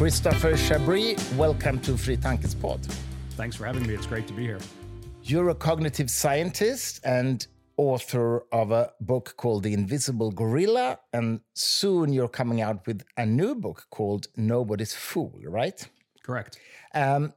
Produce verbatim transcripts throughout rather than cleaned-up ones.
Christopher Chabris, welcome to Fri Tankes Pod. Thanks for having me. It's great to be here. You're a cognitive scientist and author of a book called The Invisible Gorilla, and soon you're coming out with a new book called Nobody's Fool, right? Correct. Um,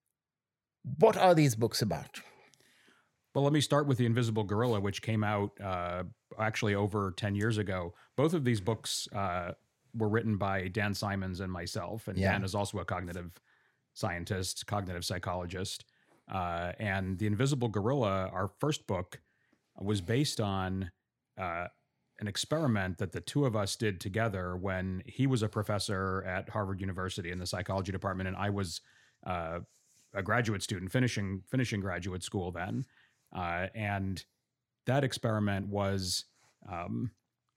what are these books about? Well, let me start with The Invisible Gorilla, which came out uh, actually over ten years ago. Both of these books uh, were written by Dan Simons and myself, and yeah. Dan is also a cognitive scientist, cognitive psychologist. Uh, and The Invisible Gorilla, our first book, was based on uh, an experiment that the two of us did together when he was a professor at Harvard University in the psychology department, and I was uh, a graduate student finishing finishing graduate school then. Uh, and that experiment was um,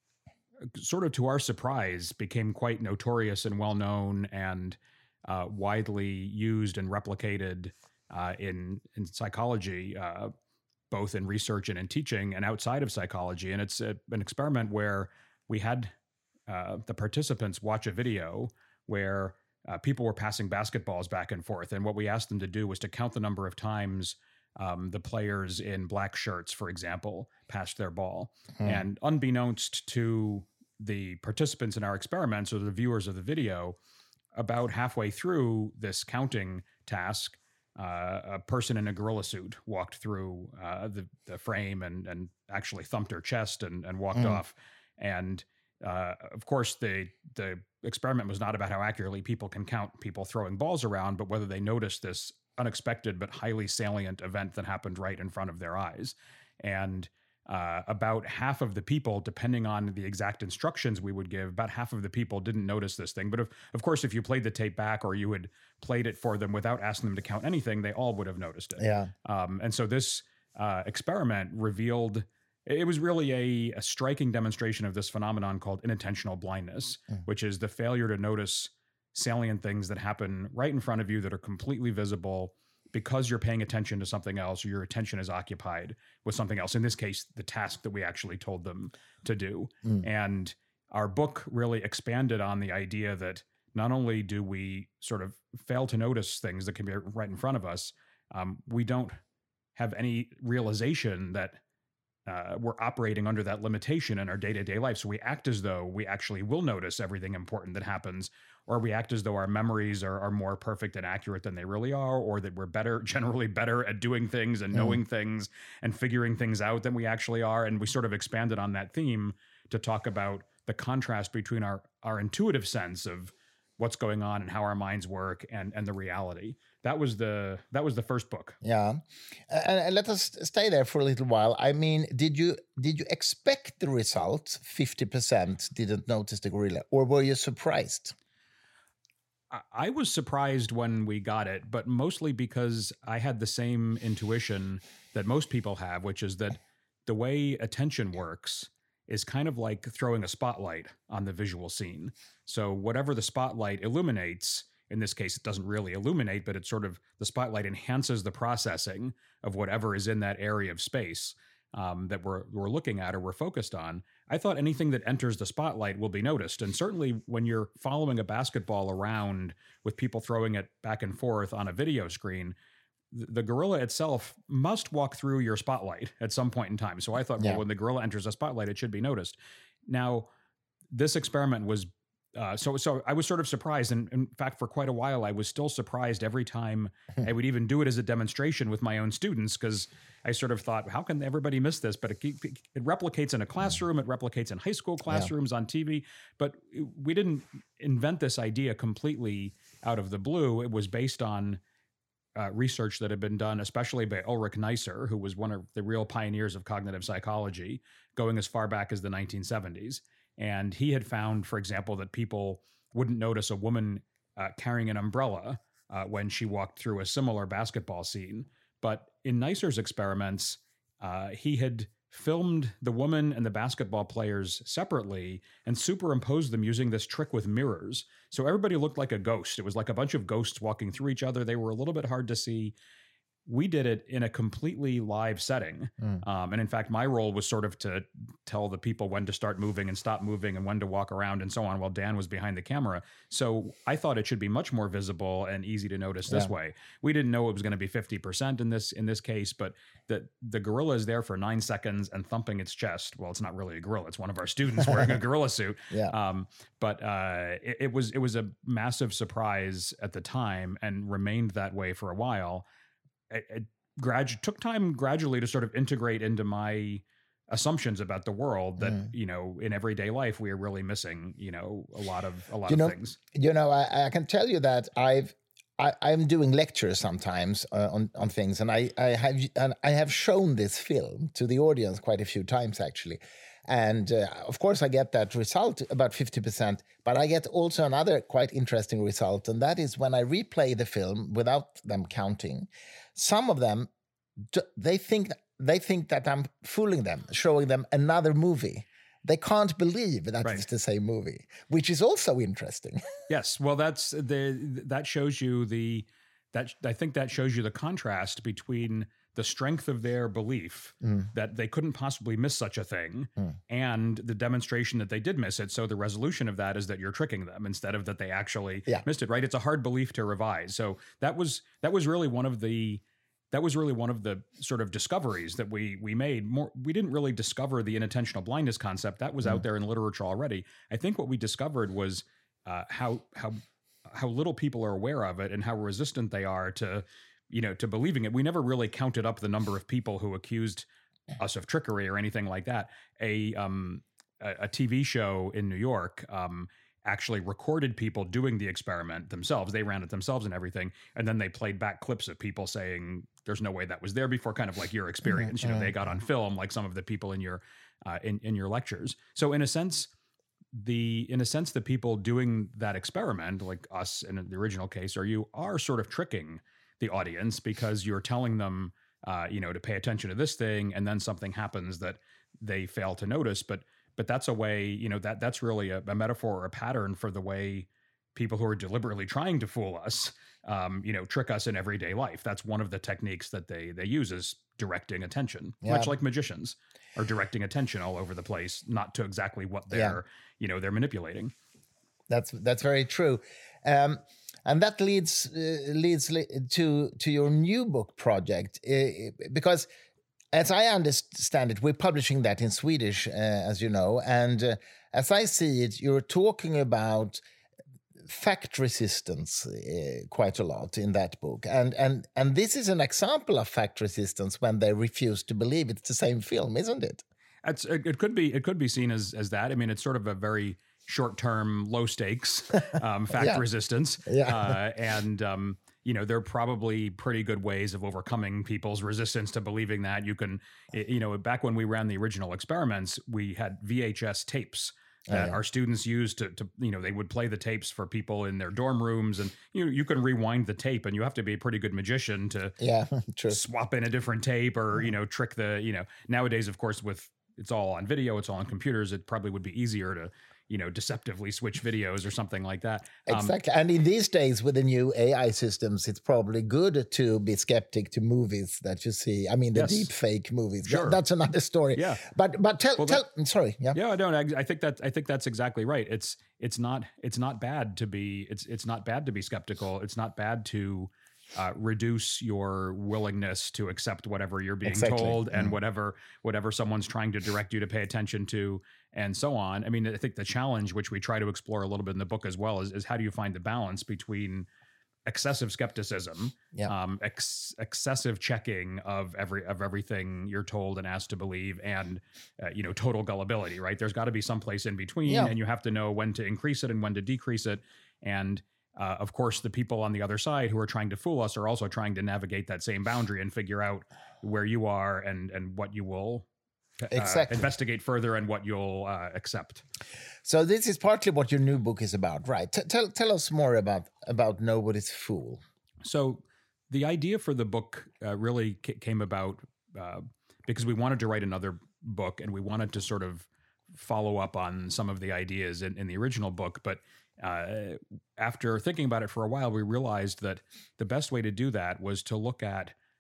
sort of to our surprise became quite notorious and well known and uh, widely used and replicated uh, in in psychology. Uh, both in research and in teaching and outside of psychology. And it's a, an experiment where we had uh, the participants watch a video where uh, people were passing basketballs back and forth. And what we asked them to do was to count the number of times um, the players in black shirts, for example, passed their ball. Hmm. And unbeknownst to the participants in our experiments or the viewers of the video, about halfway through this counting task, Uh, a person in a gorilla suit walked through uh, the, the frame and, and actually thumped her chest and, and walked mm. off. And uh, of course, the the experiment was not about how accurately people can count people throwing balls around, but whether they noticed this unexpected but highly salient event that happened right in front of their eyes. And uh, about half of the people, depending on the exact instructions we would give, about half of the people didn't notice this thing. But of, of course, if you played the tape back or you had played it for them without asking them to count anything, they all would have noticed it. Yeah. Um, and so this uh, experiment revealed, it was really a, a striking demonstration of this phenomenon called inattentional blindness, mm. which is the failure to notice salient things that happen right in front of you that are completely visible because you're paying attention to something else, or your attention is occupied with something else. In this case, the task that we actually told them to do. Mm. And our book really expanded on the idea that not only do we sort of fail to notice things that can be right in front of us, um, we don't have any realization that uh, we're operating under that limitation in our day-to-day life. So we act as though we actually will notice everything important that happens, or we act as though our memories are, are more perfect and accurate than they really are, or that we're better, generally better at doing things and knowing mm. things and figuring things out than we actually are. And we sort of expanded on that theme to talk about the contrast between our, our intuitive sense of what's going on and how our minds work and, and the reality. That was the that was the first book. Yeah, and, and let us stay there for a little while. I mean, did you did you expect the result? fifty percent didn't notice the gorilla, or were you surprised? I, I was surprised when we got it, but mostly because I had the same intuition that most people have, which is that the way attention works is kind of like throwing a spotlight on the visual scene. So whatever the spotlight illuminates, in this case, it doesn't really illuminate, but it sort of, the spotlight enhances the processing of whatever is in that area of space um, that we're we're looking at or we're focused on. I thought anything that enters the spotlight will be noticed. And certainly when you're following a basketball around with people throwing it back and forth on a video screen, the gorilla itself must walk through your spotlight at some point in time. So I thought, well, yeah. when the gorilla enters a spotlight, it should be noticed. Now, this experiment was, uh, so so I was sort of surprised. And in fact, for quite a while, I was still surprised every time I would even do it as a demonstration with my own students, because I sort of thought, how can everybody miss this? But it, it replicates in a classroom. It replicates in high school classrooms, yeah. on T V. But we didn't invent this idea completely out of the blue. It was based on Uh, research that had been done, especially by Ulrich Neisser, who was one of the real pioneers of cognitive psychology, going as far back as the nineteen seventies. And he had found, for example, that people wouldn't notice a woman uh, carrying an umbrella uh, when she walked through a similar basketball scene. But in Neisser's experiments, uh, he had filmed the woman and the basketball players separately and superimposed them using this trick with mirrors. So everybody looked like a ghost. It was like a bunch of ghosts walking through each other. They were a little bit hard to see. we did it in a completely live setting. Mm. Um, and in fact, my role was sort of to tell the people when to start moving and stop moving and when to walk around and so on, while Dan was behind the camera. So I thought it should be much more visible and easy to notice this yeah. way. We didn't know it was going to be fifty percent in this in this case, but the, the gorilla is there for nine seconds and thumping its chest. Well, it's not really a gorilla. It's one of our students wearing a gorilla suit. Yeah. Um, but uh, it, it was it was a massive surprise at the time and remained that way for a while. It, it gradu- took time gradually to sort of integrate into my assumptions about the world that, mm. you know, in everyday life, we are really missing, you know, a lot of, a lot you of know, things. You know, I, I can tell you that I've, I, I'm doing lectures sometimes uh, on, on things, and I, I have, and I have shown this film to the audience quite a few times actually. And uh, of course, I get that result, about fifty percent, but I get also another quite interesting result. And that is when I replay the film without them counting, some of them, they think, they think that I'm fooling them, showing them another movie. They can't believe that right. it's the same movie, which is also interesting. Yes. Well, that's the, that shows you the, that I think that shows you the contrast between the strength of their belief mm. that they couldn't possibly miss such a thing mm. and the demonstration that they did miss it. So the resolution of that is that you're tricking them instead of that they actually yeah. missed it, right? It's a hard belief to revise. So that was, that was really one of the, that was really one of the sort of discoveries that we, we made. More, we didn't really discover the inattentional blindness concept. That was mm. out there in literature already. I think what we discovered was uh, how, how, how little people are aware of it and how resistant they are to, you know, to believing it. We never really counted up the number of people who accused us of trickery or anything like that. A um, a, a T V show in New York um, actually recorded people doing the experiment themselves. They ran it themselves and everything, and then they played back clips of people saying, "There's no way that was there before." Kind of like your experience. You know, they got on film, like some of the people in your uh, in in your lectures. So in a sense, the in a sense, the people doing that experiment, like us in the original case, or you, are sort of tricking the audience because you're telling them, uh, you know, to pay attention to this thing, and then something happens that they fail to notice. But but that's a way, you know, that that's really a, a metaphor or a pattern for the way people who are deliberately trying to fool us, um, you know, trick us in everyday life. That's one of the techniques that they they use, is directing attention, yeah. much like magicians are directing attention all over the place, not to exactly what they're, yeah. you know, they're manipulating. That's that's very true. Um, And that leads uh, leads to to your new book project, uh, because, as I understand it, we're publishing that in Swedish, uh, as you know, and uh, as I see it, you're talking about fact resistance uh, quite a lot in that book, and and and this is an example of fact resistance when they refuse to believe it's the same film, isn't it? It's, it could be it could be seen as as that. I mean, it's sort of a very short-term, low stakes um, fact yeah. resistance. Yeah. Uh, and, um, you know, there are probably pretty good ways of overcoming people's resistance to believing that. You can, you know, back when we ran the original experiments, we had V H S tapes that oh, yeah. our students used to, to, you know, they would play the tapes for people in their dorm rooms, and you know, you can rewind the tape, and you have to be a pretty good magician to yeah, true. swap in a different tape or, you know, trick the, you know, nowadays, of course, with it's all on video, it's all on computers, it probably would be easier to, you know, deceptively switch videos or something like that. Exactly. Um, and in these days with the new A I systems, it's probably good to be skeptic to movies that you see. I mean, the yes. deep fake movies. Sure. That's another story. Yeah. But but tell well, tell that, sorry. Yeah. Yeah, I don't I, I think that I think that's exactly right. It's it's not it's not bad to be it's it's not bad to be skeptical. It's not bad to Uh, reduce your willingness to accept whatever you're being exactly. told and mm. whatever whatever someone's trying to direct you to pay attention to, and so on. I mean, I think the challenge, which we try to explore a little bit in the book as well, is, is how do you find the balance between excessive skepticism, yeah. um, ex- excessive checking of every of everything you're told and asked to believe, and uh, you know, total gullibility. Right? There's got to be some place in between, yeah. and you have to know when to increase it and when to decrease it, and Uh, of course, the people on the other side who are trying to fool us are also trying to navigate that same boundary and figure out where you are and and what you will uh, exactly. investigate further and what you'll uh, accept. So this is partly what your new book is about, right? T- tell tell us more about about Nobody's Fool. So the idea for the book uh, really c- came about uh, because we wanted to write another book, and we wanted to sort of follow up on some of the ideas in, in the original book, but Uh, after thinking about it for a while, we realized that the best way to do that was to look at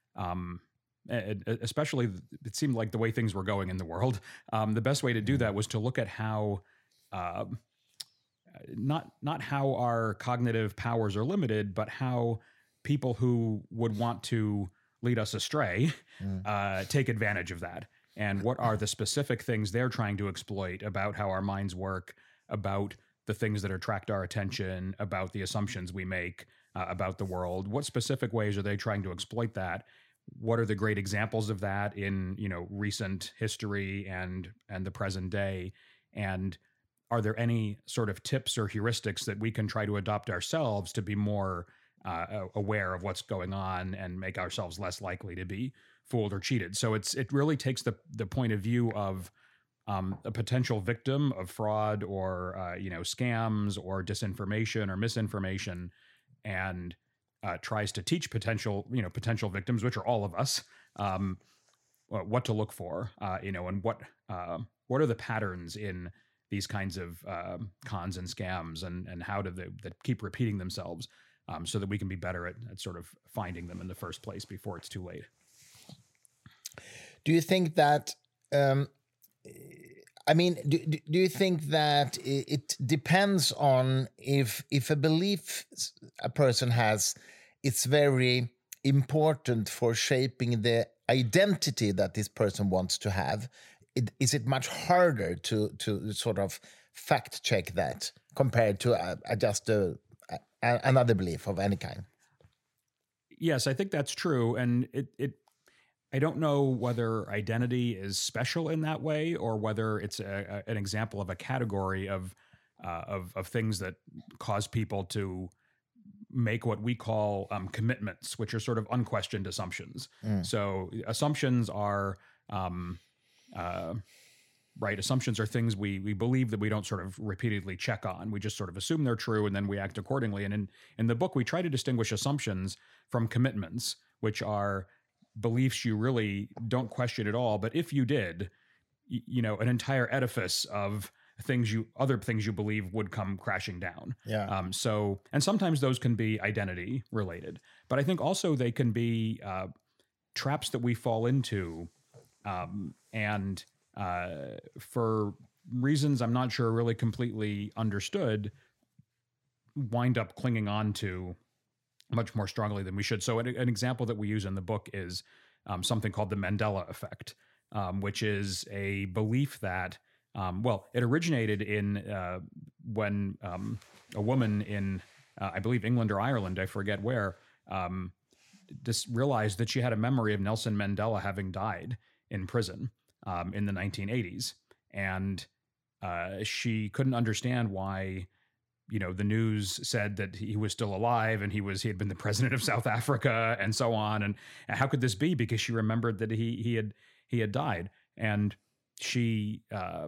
um, especially it seemed like the way things were going in the world, um, the best way to do that was to look at how, uh, not not how our cognitive powers are limited, but how people who would want to lead us astray mm. uh, take advantage of that. And what are the specific things they're trying to exploit about how our minds work, about the things that attract our attention, about the assumptions we make uh, about the world? What specific ways are they trying to exploit that? What are the great examples of that in, you know, recent history and and the present day? And are there any sort of tips or heuristics that we can try to adopt ourselves to be more uh, aware of what's going on and make ourselves less likely to be fooled or cheated? So it's it really takes the the point of view of um, a potential victim of fraud or uh, you know scams or disinformation or misinformation, and uh, tries to teach potential you know potential victims, which are all of us, um, what to look for, uh, you know, and what uh, what are the patterns in these kinds of uh, cons and scams, and and how do they that keep repeating themselves, um, so that we can be better at, at sort of finding them in the first place before it's too late. Do you think that, um, I mean, do, do you think that it depends on if if a belief a person has, it's very important for shaping the identity that this person wants to have? It, is it much harder to to sort of fact check that compared to uh, just a, a, another belief of any kind? Yes, I think that's true, and it it. I don't know whether identity is special in that way, or whether it's a, a, an example of a category of, uh, of of things that cause people to make what we call um, commitments, which are sort of unquestioned assumptions. Mm. So assumptions are um, uh, right. Assumptions are things we we believe that we don't sort of repeatedly check on. We just sort of assume they're true and then we act accordingly. And in in the book, we try to distinguish assumptions from commitments, which are beliefs you really don't question at all, but if you did, you, you know, an entire edifice of things you, other things you believe would come crashing down. Yeah. Um, so, and sometimes those can be identity related, but I think also they can be uh, traps that we fall into, um, and uh, for reasons I'm not sure really completely understood, wind up clinging on to much more strongly than we should. So an, an example that we use in the book is um, something called the Mandela effect, um, which is a belief that, um, well, it originated in uh, when um, a woman in, uh, I believe, England or Ireland, I forget where, um, just realized that she had a memory of Nelson Mandela having died in prison um, in the nineteen eighties. And uh, she couldn't understand why, you know, the news said that he was still alive and he was, he had been the president of South Africa and so on. And, and how could this be? Because she remembered that he, he had, he had died. And she, uh,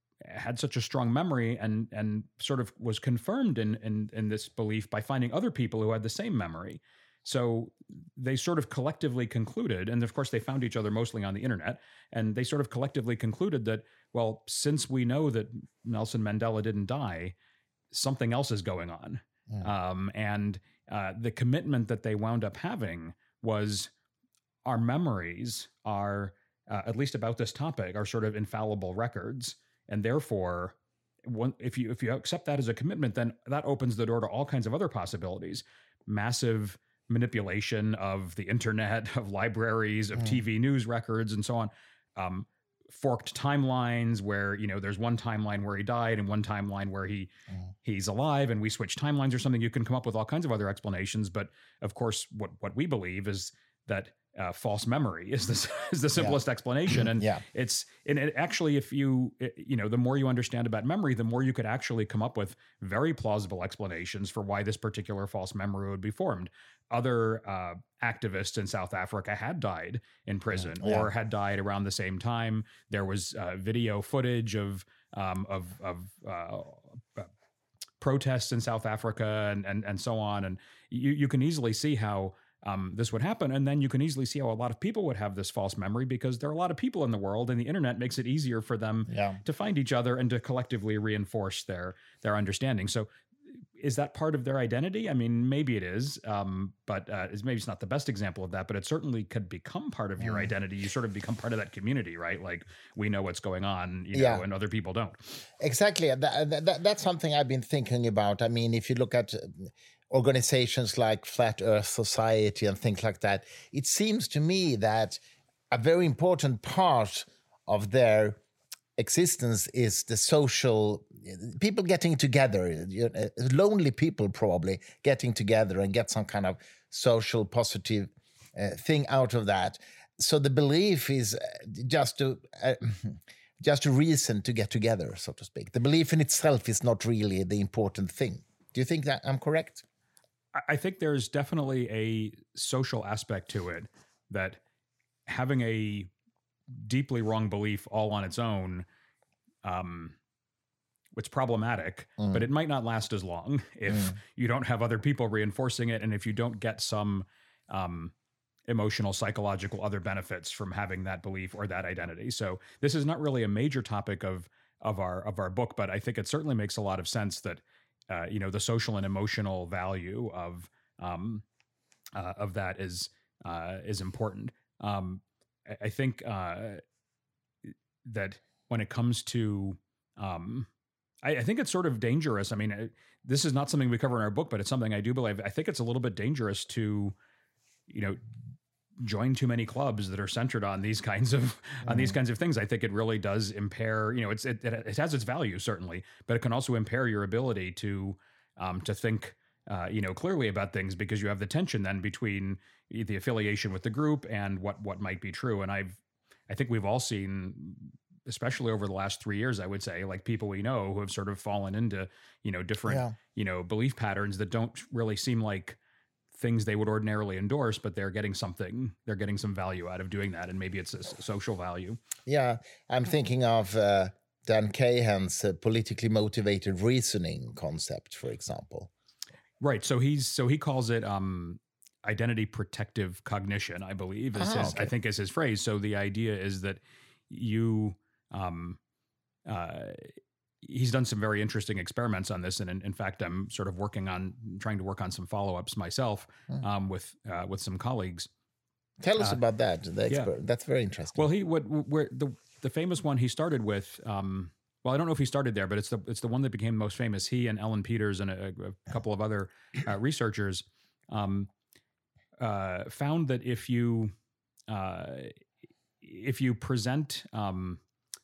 had such a strong memory and, and sort of was confirmed in, in, in this belief by finding other people who had the same memory. So they sort of collectively concluded, and of course they found each other mostly on the internet, and they sort of collectively concluded that, well, since we know that Nelson Mandela didn't die, something else is going on. Yeah. Um, and uh, the commitment that they wound up having was our memories are, uh, at least about this topic, are sort of infallible records. And therefore, one, if you if you accept that as a commitment, then that opens the door to all kinds of other possibilities. Massive manipulation of the internet, of libraries, of mm. T V news records, and so on. Um, forked timelines where, you know, there's one timeline where he died and one timeline where he mm. he's alive, and we switch timelines or something. You can come up with all kinds of other explanations, but of course what what we believe is that uh, false memory is the is the simplest yeah. explanation. And yeah. it's and it actually, if you you know, the more you understand about memory, the more you could actually come up with very plausible explanations for why this particular false memory would be formed. Other uh, activists in South Africa had died in prison yeah. or had died around the same time. There was uh, video footage of um, of of uh, uh, protests in South Africa and and and so on. And you you can easily see how um, this would happen. And then you can easily see how a lot of people would have this false memory, because there are a lot of people in the world, and the internet makes it easier for them yeah. to find each other and to collectively reinforce their their understanding. So is that part of their identity? I mean, maybe it is, um, but uh, it's, maybe it's not the best example of that, but it certainly could become part of your mm. identity. You sort of become part of that community, right? Like, we know what's going on, you know, yeah. and other people don't. Exactly. That, that, that's something I've been thinking about. I mean, if you look at organizations like Flat Earth Society and things like that, it seems to me that a very important part of their existence is the social, people getting together, you know, lonely people probably getting together and get some kind of social positive uh, thing out of that. So the belief is just to uh, just a reason to get together, so to speak. The belief in itself is not really the important thing. Do you think that I'm correct? I think there's definitely a social aspect to it, that having a deeply wrong belief all on its own, um, it's problematic, mm. but it might not last as long if mm. you don't have other people reinforcing it, and if you don't get some um, emotional, psychological, other benefits from having that belief or that identity. So this is not really a major topic of of our of our book, but I think it certainly makes a lot of sense that uh, you know, the social and emotional value of um, uh, of that is uh, is important. Um, I, I think uh, that when it comes to um, I, I think it's sort of dangerous. I mean, it, this is not something we cover in our book, but it's something I do believe. I think it's a little bit dangerous to, you know, join too many clubs that are centered on these kinds of mm. on these kinds of things. I think it really does impair. You know, it's it, it has its value certainly, but it can also impair your ability to um, to think, uh, you know, clearly about things, because you have the tension then between the affiliation with the group and what what might be true. And I've I think we've all seen, especially over the last three years, I would say, like people we know who have sort of fallen into, you know, different, yeah. you know, belief patterns that don't really seem like things they would ordinarily endorse, but they're getting something, they're getting some value out of doing that. And maybe it's a social value. Yeah. I'm thinking of uh, Dan Kahan's uh, politically motivated reasoning concept, for example. Right. So he's, so he calls it um, identity protective cognition, I believe, is oh, his, okay. I think is his phrase. So the idea is that you, um, uh, he's done some very interesting experiments on this. And in, in fact, I'm sort of working on trying to work on some follow-ups myself mm. um, with, uh, with some colleagues. Tell us uh, about that. The expert. Yeah. That's very interesting. Well, he, what, where the, the famous one he started with, um, well, I don't know if he started there, but it's the, it's the one that became most famous. He and Ellen Peters and a, a couple of other uh, researchers um, uh, found that if you, uh, if you present um,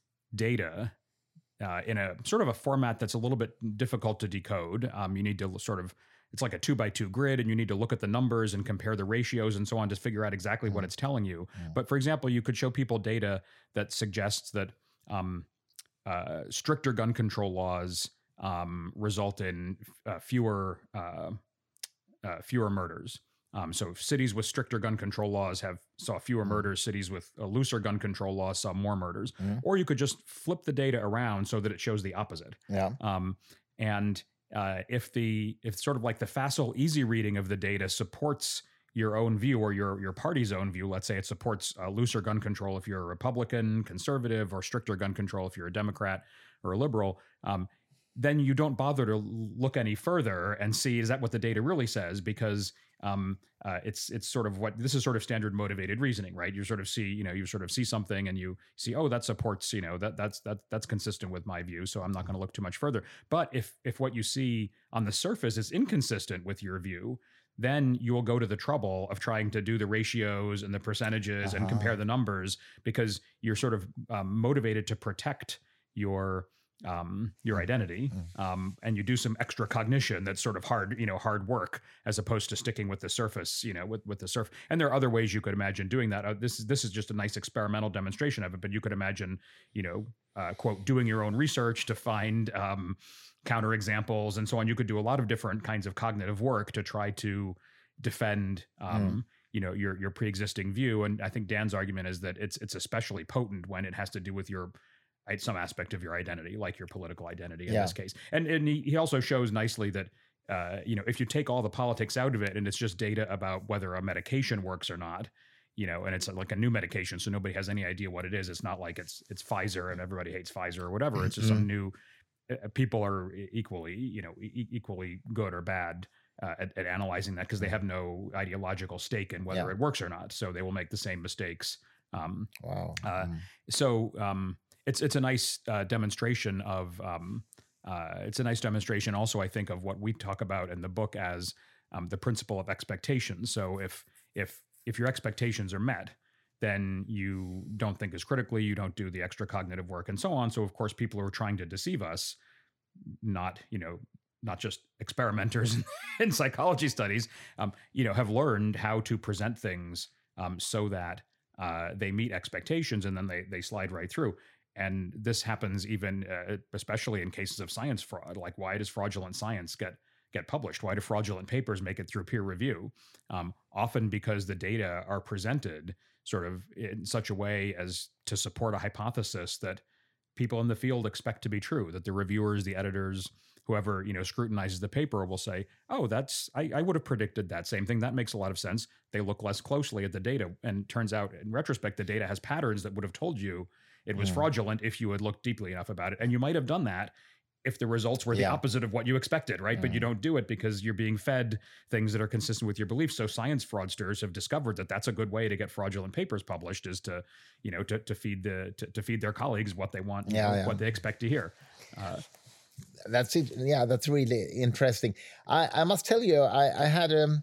data Uh, in a sort of a format that's a little bit difficult to decode. Um, you need to sort of, it's like a two by two grid, and you need to look at the numbers and compare the ratios and so on to figure out exactly mm. what it's telling you. Mm. But for example, you could show people data that suggests that um, uh, stricter gun control laws um, result in uh, fewer uh, uh, fewer murders. Um, so cities with stricter gun control laws have saw fewer murders. Cities with a looser gun control laws saw more murders. Mm. Or you could just flip the data around so that it shows the opposite. Yeah. Um, and uh, if the if sort of like the facile, easy reading of the data supports your own view or your your party's own view, let's say it supports uh, looser gun control if you're a Republican, conservative, or stricter gun control if you're a Democrat or a liberal. Um, then you don't bother to look any further and see, is that what the data really says? Because um, uh, it's it's sort of what, this is sort of standard motivated reasoning, right? You sort of see, you know, you sort of see something and you see, oh, that supports, you know, that that's that that's consistent with my view, so I'm not going to look too much further. But if if what you see on the surface is inconsistent with your view, then you will go to the trouble of trying to do the ratios and the percentages uh-huh. and compare the numbers, because you're sort of um, motivated to protect your um, your identity, um, and you do some extra cognition that's sort of hard, you know, hard work, as opposed to sticking with the surface, you know, with, with the surf. And there are other ways you could imagine doing that. Uh, this is, this is just a nice experimental demonstration of it, but you could imagine, you know, uh, quote, doing your own research to find um, counterexamples and so on. You could do a lot of different kinds of cognitive work to try to defend, um, mm. you know, your, your pre-existing view. And I think Dan's argument is that it's, it's especially potent when it has to do with your, some aspect of your identity, like your political identity in yeah. this case. And and he, he also shows nicely that, uh, you know, if you take all the politics out of it and it's just data about whether a medication works or not, you know, and it's like a new medication, so nobody has any idea what it is. It's not like it's it's Pfizer and everybody hates Pfizer or whatever. It's just mm-hmm. some new people are equally, you know, e- equally good or bad uh, at, at analyzing that because they have no ideological stake in whether Yeah. it works or not. So they will make the same mistakes. Um, Wow. uh, Mm. So um, it's it's a nice uh, demonstration of um, uh, it's a nice demonstration also, I think, of what we talk about in the book as um, the principle of expectations. So if if if your expectations are met, then you don't think as critically, you don't do the extra cognitive work, and so on. So of course, people who are trying to deceive us, not you know not just experimenters in psychology studies, um, you know, have learned how to present things um, so that uh, they meet expectations, and then they they slide right through. And this happens even, uh, especially in cases of science fraud. Like, why does fraudulent science get get published? Why do fraudulent papers make it through peer review? Um, often because the data are presented sort of in such a way as to support a hypothesis that people in the field expect to be true, that the reviewers, the editors, whoever, you know, scrutinizes the paper will say, oh, that's, I, I would have predicted that same thing. That makes a lot of sense. They look less closely at the data. And turns out in retrospect, the data has patterns that would have told you it was Mm. fraudulent if you had looked deeply enough about it. And you might have done that if the results were the Yeah. opposite of what you expected, right? But you Mm. don't do it because you're being fed things that are consistent with your beliefs. So science fraudsters have discovered that that's a good way to get fraudulent papers published, is to, you know, to, to feed the to, to feed their colleagues what they want, you Yeah, know, yeah. what they expect to hear. Uh, That's it. Yeah, that's really interesting. I, I must tell you, I, I had a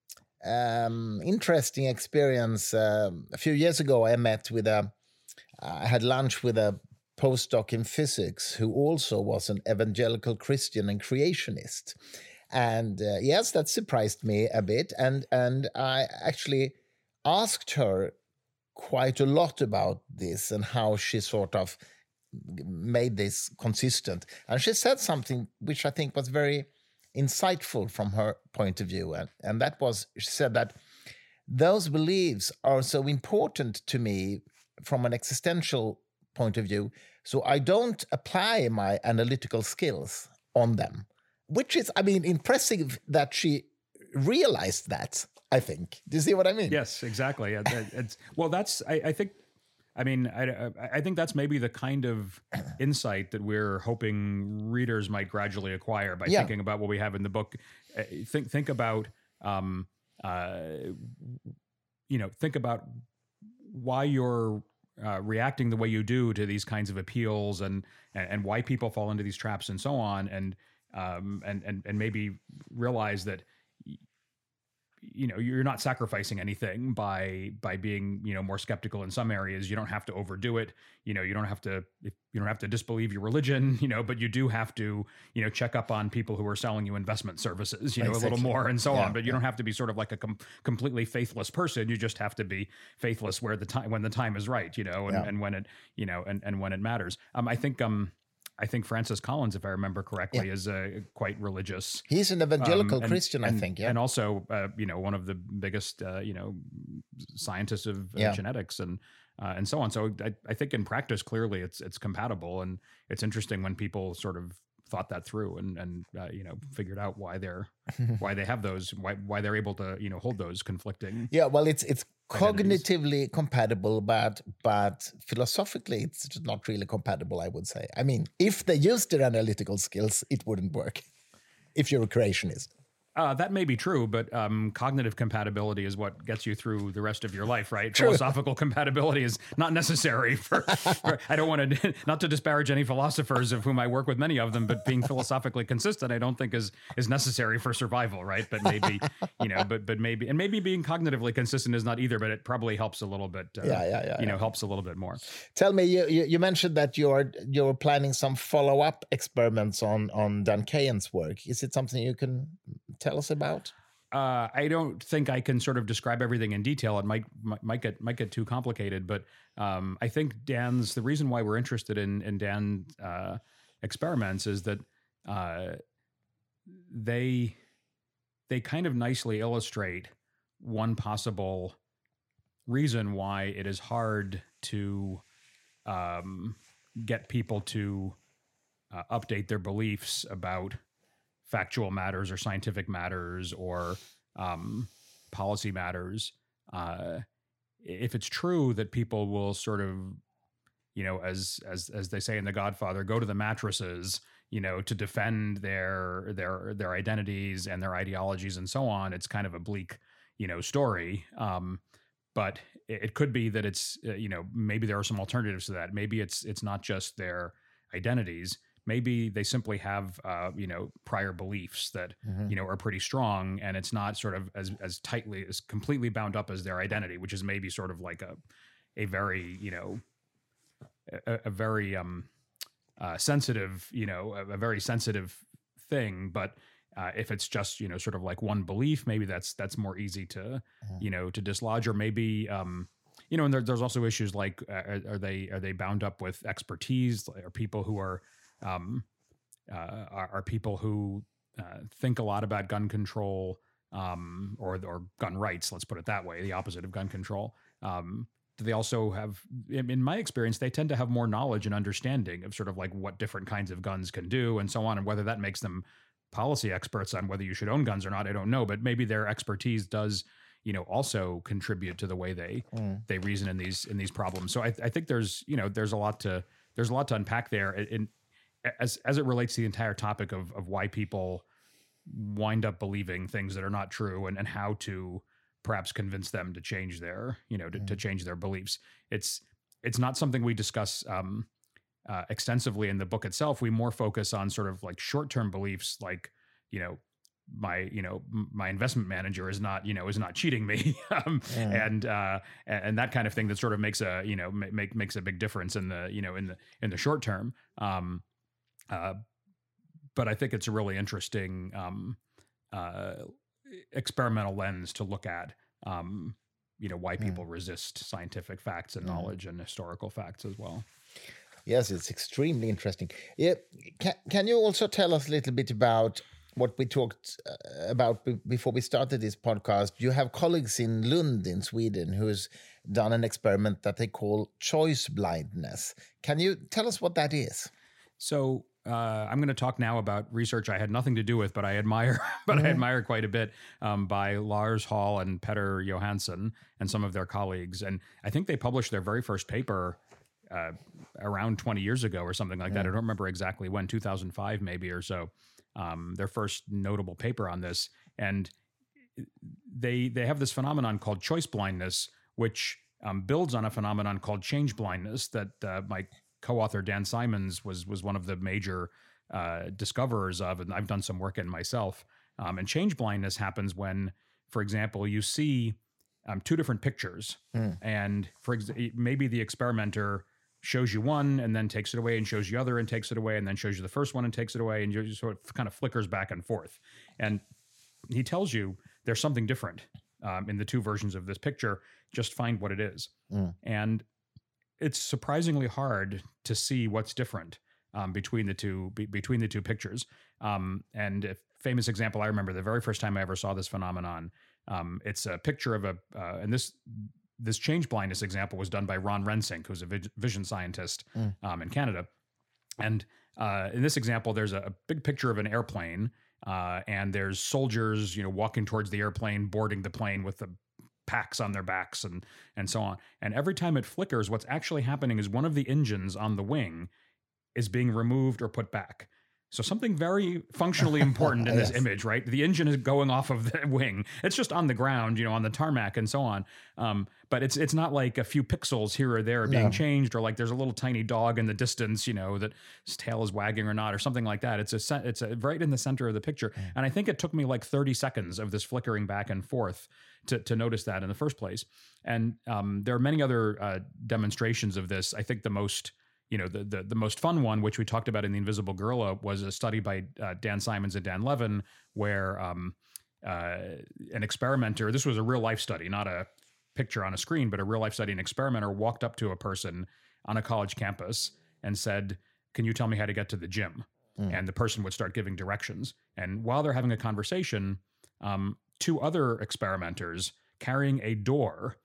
um, interesting experience um, a few years ago. I met with a, I had lunch with a postdoc in physics who also was an evangelical Christian and creationist. And uh, yes, that surprised me a bit. And and I actually asked her quite a lot about this and how she sort of made this consistent. And she said something which I think was very insightful from her point of view. And, and that was, she said that those beliefs are so important to me from an existential point of view, so I don't apply my analytical skills on them, which is, I mean, impressive that she realized that, I think. Do you see what I mean? yes, exactly. It- it- It's, well, that's, I, I think, I mean, I, I think that's maybe the kind of insight that we're hoping readers might gradually acquire by Yeah. thinking about what we have in the book. Uh, Think, think about, um, uh, you know, think about why you're uh, reacting the way you do to these kinds of appeals, and, and and why people fall into these traps and so on, and um and and and maybe realize that you know you're not sacrificing anything by by being you know more skeptical in some areas. You don't have to overdo it. You know you don't have to if you don't have to disbelieve your religion. You know, but you do have to you know check up on people who are selling you investment services. You know Exactly. a little more and so Yeah, on. But you yeah. don't have to be sort of like a com- completely faithless person. You just have to be faithless where the time when the time is right. You know, and, Yeah. and when it you know and and when it matters. Um, I think um. I think Francis Collins, if I remember correctly, is uh, quite religious. He's an evangelical Um, and- Christian, I and- think. Yeah. and also, uh, you know, one of the biggest, uh, you know, scientists of uh, Yeah. genetics and uh, and so on. So I, I think in practice, clearly, it's it's compatible, and it's interesting when people sort of thought that through and and uh, you know figured out why they're why they have those why why they're able to you know hold those conflicting. Yeah, well, it's it's Identities. cognitively compatible, but but philosophically, it's not really compatible, I would say. I mean, if they used their analytical skills, it wouldn't work. If you're a creationist. Uh, that may be true, but um, cognitive compatibility is what gets you through the rest of your life, right? True. Philosophical compatibility is not necessary for, for. I don't want to not to disparage any philosophers, of whom I work with many of them, but being philosophically consistent, I don't think is is necessary for survival, right? But maybe you know, but but maybe and maybe being cognitively consistent is not either, but it probably helps a little bit. Uh, Yeah, yeah, yeah, You know, yeah. helps a little bit more. Tell me, you, you, you mentioned that you're you're planning some follow-up experiments on, on Dan Kahan's work. Is it something you can tell us about? Uh, I don't think I can sort of describe everything in detail. It might might might get might get too complicated, but um, I think Dan's the reason why we're interested in in Dan uh, experiments is that uh, they they kind of nicely illustrate one possible reason why it is hard to um, get people to uh, update their beliefs about factual matters or scientific matters or um, policy matters. Uh, if it's true that people will sort of, you know, as as as they say in The Godfather, go to the mattresses, you know, to defend their their their identities and their ideologies and so on. It's kind of a bleak, you know, story. Um, but it, it could be that it's uh, you know, maybe there are some alternatives to that. Maybe it's it's not just their identities. Maybe they simply have, uh, you know, prior beliefs that, mm-hmm. you know, are pretty strong, and it's not sort of as as tightly, as completely bound up as their identity, which is maybe sort of like a, a very, you know, a, a very um, uh, sensitive, you know, a, a very sensitive thing. But uh, if it's just, you know, sort of like one belief, maybe that's that's more easy to, mm-hmm. you know, to dislodge, or maybe. Um, You know, and there, there's also issues like, uh, are they are they bound up with expertise? Are people who are um, uh, are, are people who uh, think a lot about gun control um, or or gun rights? Let's put it that way. The opposite of gun control. Um, do they also have? In my experience, they tend to have more knowledge and understanding of sort of like what different kinds of guns can do and so on, and whether that makes them policy experts on whether you should own guns or not. I don't know, but maybe their expertise does, you know, also contribute to the way they mm. they reason in these in these problems. So I, I think there's, you know, there's a lot to there's a lot to unpack there, in, as as it relates to the entire topic of of why people wind up believing things that are not true, and and how to perhaps convince them to change their, you know, to, mm. to change their beliefs. It's it's not something we discuss um, uh, extensively in the book itself. We more focus on sort of like short term beliefs, like, you know, my, you know, my investment manager is not, you know, is not cheating me. um, yeah. and, uh, and that kind of thing that sort of makes a, you know, make, makes a big difference in the, you know, in the, in the short term. Um, uh, but I think it's a really interesting, um, uh, experimental lens to look at, um, you know, why people mm. resist scientific facts and mm. knowledge and historical facts as well. Yes, it's extremely interesting. Yeah. Can, can you also tell us a little bit about what we talked about b- before we started this podcast? You have colleagues in Lund in Sweden who's done an experiment that they call choice blindness. Can you tell us what that is? So uh, I'm going to talk now about research I had nothing to do with, but I admire, but mm-hmm. I admire quite a bit, um, by Lars Hall and Petter Johansson and some of their colleagues. And I think they published their very first paper uh, around twenty years ago or something like mm. that. I don't remember exactly when, two thousand five maybe or so. Um, their first notable paper on this, and they they have this phenomenon called choice blindness, which um, builds on a phenomenon called change blindness that uh, my co-author Dan Simons was was one of the major uh, discoverers of, and I've done some work in myself. Um, and change blindness happens when, for example, you see um, two different pictures, mm. and for ex- maybe the experimenter shows you one and then takes it away, and shows you other and takes it away, and then shows you the first one and takes it away, and you sort of kind of flickers back and forth. And he tells you there's something different um, in the two versions of this picture. Just find what it is. Mm. And it's surprisingly hard to see what's different um, between the two be, between the two pictures. Um, and a famous example I remember, the very first time I ever saw this phenomenon, um, it's a picture of a uh, and this. This change blindness example was done by Ron Rensink, who's a vision scientist mm. um, in Canada. And uh, in this example, there's a, a big picture of an airplane, uh, and there's soldiers, you know, walking towards the airplane, boarding the plane with the packs on their backs and and so on. And every time it flickers, what's actually happening is one of the engines on the wing is being removed or put back. So something very functionally important in yes. this image, right? The engine is going off of the wing. It's just on the ground, you know, on the tarmac and so on. Um, but it's it's not like a few pixels here or there being no. changed, or like there's a little tiny dog in the distance, you know, that his tail is wagging or not, or something like that. It's a it's a, right in the center of the picture. Mm. And I think it took me like thirty seconds of this flickering back and forth to to notice that in the first place. And um, there are many other uh, demonstrations of this. I think the most You know, the, the the most fun one, which we talked about in The Invisible Gorilla, was a study by uh, Dan Simons and Dan Levin, where um, uh, an experimenter, this was a real life study, not a picture on a screen, but a real life study, an experimenter walked up to a person on a college campus and said, "Can you tell me how to get to the gym?" Mm. And the person would start giving directions. And while they're having a conversation, um, two other experimenters carrying a door,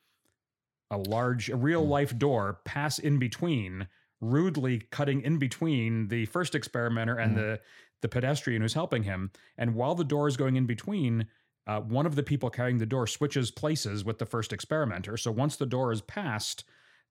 a large, a real mm. life door, pass in between, rudely cutting in between the first experimenter and mm. the the pedestrian who's helping him. And while the door is going in between, uh, one of the people carrying the door switches places with the first experimenter. So once the door is passed,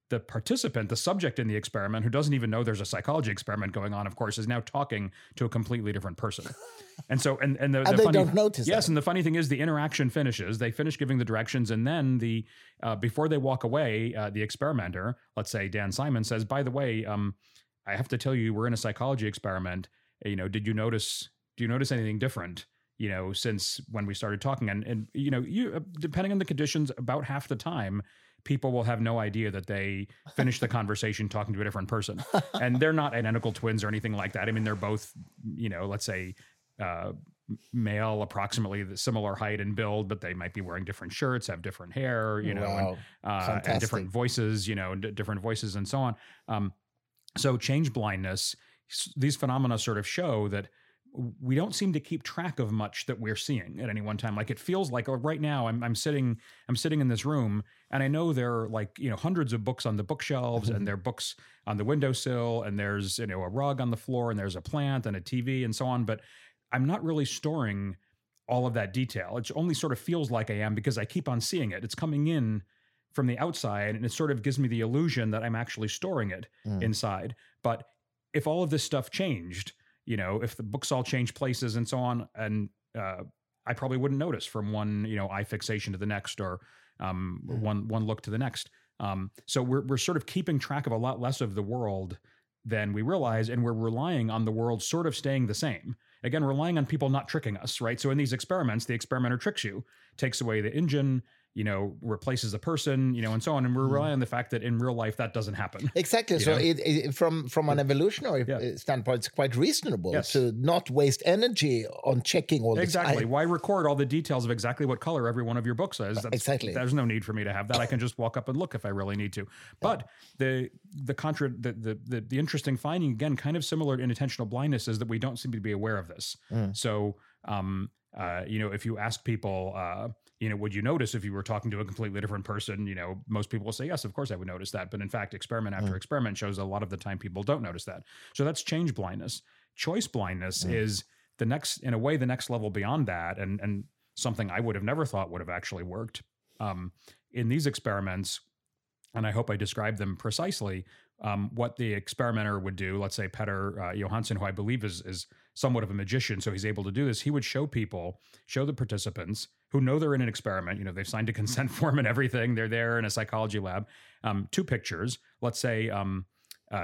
the participant, the subject in the experiment, who doesn't even know there's a psychology experiment going on, of course, is now talking to a completely different person. And so, and, and the, and the they funny, don't notice Yes, that. and the funny thing is the interaction finishes, they finish giving the directions, and then the uh, before they walk away, uh, the experimenter, let's say Dan Simon, says, by the way, um, I have to tell you, we're in a psychology experiment. You know, did you notice, do you notice anything different, you know, since when we started talking? And, and you know, you depending on the conditions, about half the time, people will have no idea that they finished the conversation talking to a different person. And they're not identical twins or anything like that. I mean, they're both, you know, let's say uh, male, approximately the similar height and build, but they might be wearing different shirts, have different hair, you know, Wow. and, uh, and different voices, you know, d- different voices and so on. Um, so change blindness, these phenomena sort of show that we don't seem to keep track of much that we're seeing at any one time. Like it feels like, oh, right now I'm I'm sitting I'm sitting in this room, and I know there are like, you know, hundreds of books on the bookshelves, mm-hmm. and there are books on the windowsill, and there's, you know, a rug on the floor, and there's a plant and a T V and so on. But I'm not really storing all of that detail. It only sort of feels like I am because I keep on seeing it. It's coming in from the outside, and it sort of gives me the illusion that I'm actually storing it mm. inside. But if all of this stuff changed, you know, if the books all change places and so on, and uh, I probably wouldn't notice from one, you know, eye fixation to the next, or um, mm. one one look to the next. Um, so we're we're sort of keeping track of a lot less of the world than we realize, and we're relying on the world sort of staying the same. Again, relying on people not tricking us, right? So in these experiments, the experimenter tricks you, takes away the engine, you know, replaces a person, you know, and so on. And we're relying on the fact that in real life, that doesn't happen. Exactly. So it, it, from, from an evolutionary yeah. standpoint, it's quite reasonable yes. to not waste energy on checking all the Exactly. time. Why record all the details of exactly what color every one of your books is? That's, exactly. There's no need for me to have that. I can just walk up and look if I really need to. But the the contra the, the, the, the interesting finding, again, kind of similar to inattentional blindness, is that we don't seem to be aware of this. Mm. So, um, uh, you know, if you ask people, uh, you know, would you notice if you were talking to a completely different person? You know, most people will say, yes, of course I would notice that. But in fact, experiment after mm. experiment shows a lot of the time people don't notice that. So that's change blindness. Choice blindness mm. is the next, in a way, the next level beyond that. And, and something I would have never thought would have actually worked. Um, in these experiments, and I hope I described them precisely, um, what the experimenter would do, let's say Petter uh, Johansson, who I believe is, is somewhat of a magician, so he's able to do this, he would show people, show the participants who know they're in an experiment, you know, they've signed a consent form and everything, they're there in a psychology lab, um, two pictures, let's say um, uh,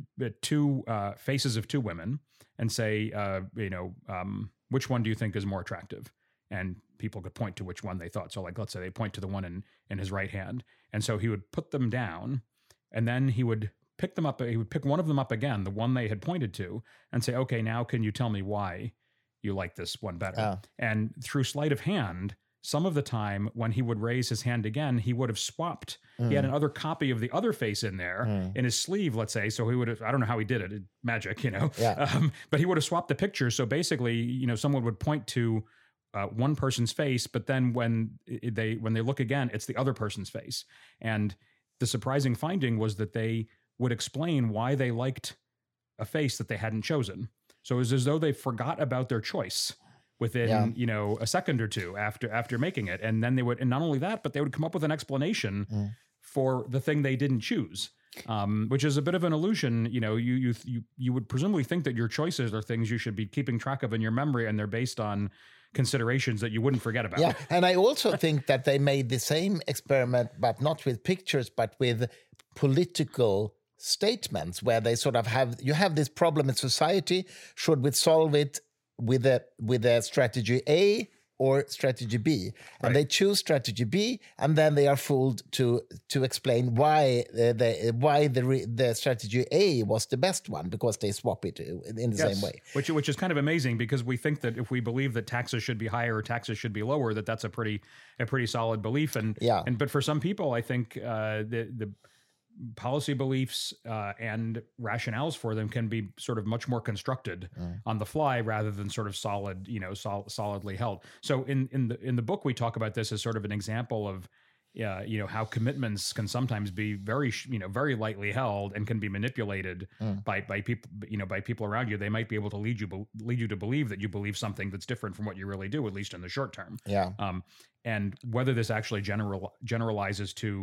two uh, faces of two women, and say, uh, you know, um, which one do you think is more attractive? And people could point to which one they thought. So like, let's say they point to the one in, in his right hand. And so he would put them down, and then he would pick them up. He would pick one of them up again, the one they had pointed to, and say, okay, now can you tell me why you like this one better? Oh. And through sleight of hand, some of the time when he would raise his hand again, he would have swapped. Mm. He had another copy of the other face in there mm. in his sleeve, let's say. So he would have, I don't know how he did it, magic, you know, yeah. um, but he would have swapped the picture. So basically, you know, someone would point to Uh, one person's face, but then when they when they look again, it's the other person's face. And the surprising finding was that they would explain why they liked a face that they hadn't chosen. So it was as though they forgot about their choice within yeah. you know a second or two after after making it, and then they would, and not only that, but they would come up with an explanation mm. for the thing they didn't choose. Um, which is a bit of an illusion. You know, you you you you would presumably think that your choices are things you should be keeping track of in your memory, and they're based on considerations that you wouldn't forget about. Yeah, and I also think that they made the same experiment, but not with pictures, but with political statements, where they sort of have, you have this problem in society, should we solve it with a with a strategy A or strategy B? And right. they choose strategy B, and then they are fooled to to explain why uh, the why the re, the strategy A was the best one, because they swap it in the yes. same way. Which which is kind of amazing, because we think that if we believe that taxes should be higher or taxes should be lower, that that's a pretty a pretty solid belief. And yeah. and but for some people, I think uh, the the policy beliefs uh, and rationales for them can be sort of much more constructed mm. on the fly rather than sort of solid, you know, sol- solidly held. So in in the in the book, we talk about this as sort of an example of, uh, you know, how commitments can sometimes be very, you know, very lightly held and can be manipulated mm. by by people, you know, by people around you. They might be able to lead you lead you to believe that you believe something that's different from what you really do, at least in the short term. Yeah. Um, and whether this actually general generalizes to,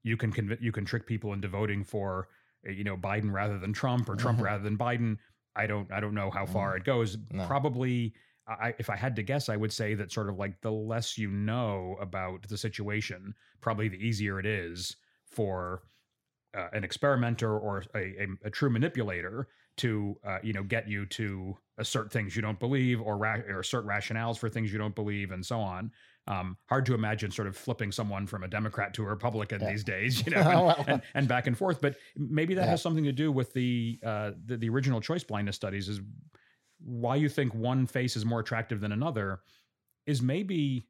you can conv- you can trick people into voting for, you know, Biden rather than Trump, or Trump mm-hmm. rather than Biden. I don't I don't know how far mm. it goes. No. Probably, I, if I had to guess, I would say that sort of like the less you know about the situation, probably the easier it is for uh, an experimenter or a, a, a true manipulator to uh, you know, get you to assert things you don't believe, or, ra- or assert rationales for things you don't believe, and so on. Um, hard to imagine sort of flipping someone from a Democrat to a Republican yeah. these days, you know, and, well, and, and back and forth. But maybe that yeah. has something to do with the, uh, the the original choice blindness studies. Is why you think one face is more attractive than another is maybe,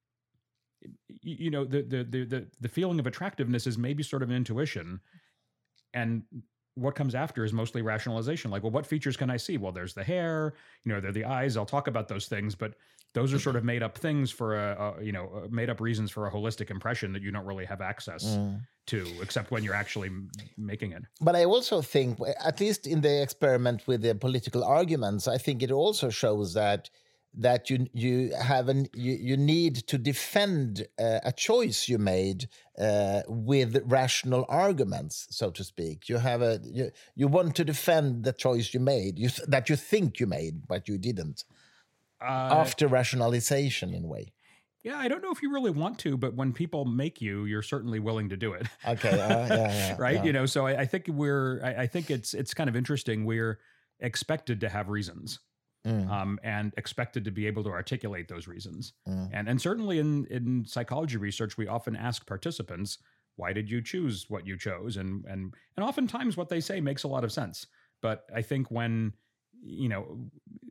you know, the the the the, the feeling of attractiveness is maybe sort of an intuition, and what comes after is mostly rationalization. Like, well, what features can I see? Well, there's the hair, you know, there are the eyes. I'll talk about those things, but those are sort of made up things for a, a you know, made up reasons for a holistic impression that you don't really have access mm. to, except when you're actually making it. But I also think, at least in the experiment with the political arguments, I think it also shows that that you you have an you, you need to defend uh, a choice you made uh, with rational arguments, so to speak. You have a you, you want to defend the choice you made, you that you think you made, but you didn't. Uh, After rationalization, in a way. Yeah, I don't know if you really want to, but when people make you, you're certainly willing to do it. Okay, uh, yeah, yeah, right. Yeah. You know, so I, I think we're. I, I think it's it's kind of interesting. We're expected to have reasons. Mm. Um, and expected to be able to articulate those reasons. Mm. And and certainly in, in psychology research, we often ask participants, why did you choose what you chose? And and and oftentimes what they say makes a lot of sense. But I think when, you know,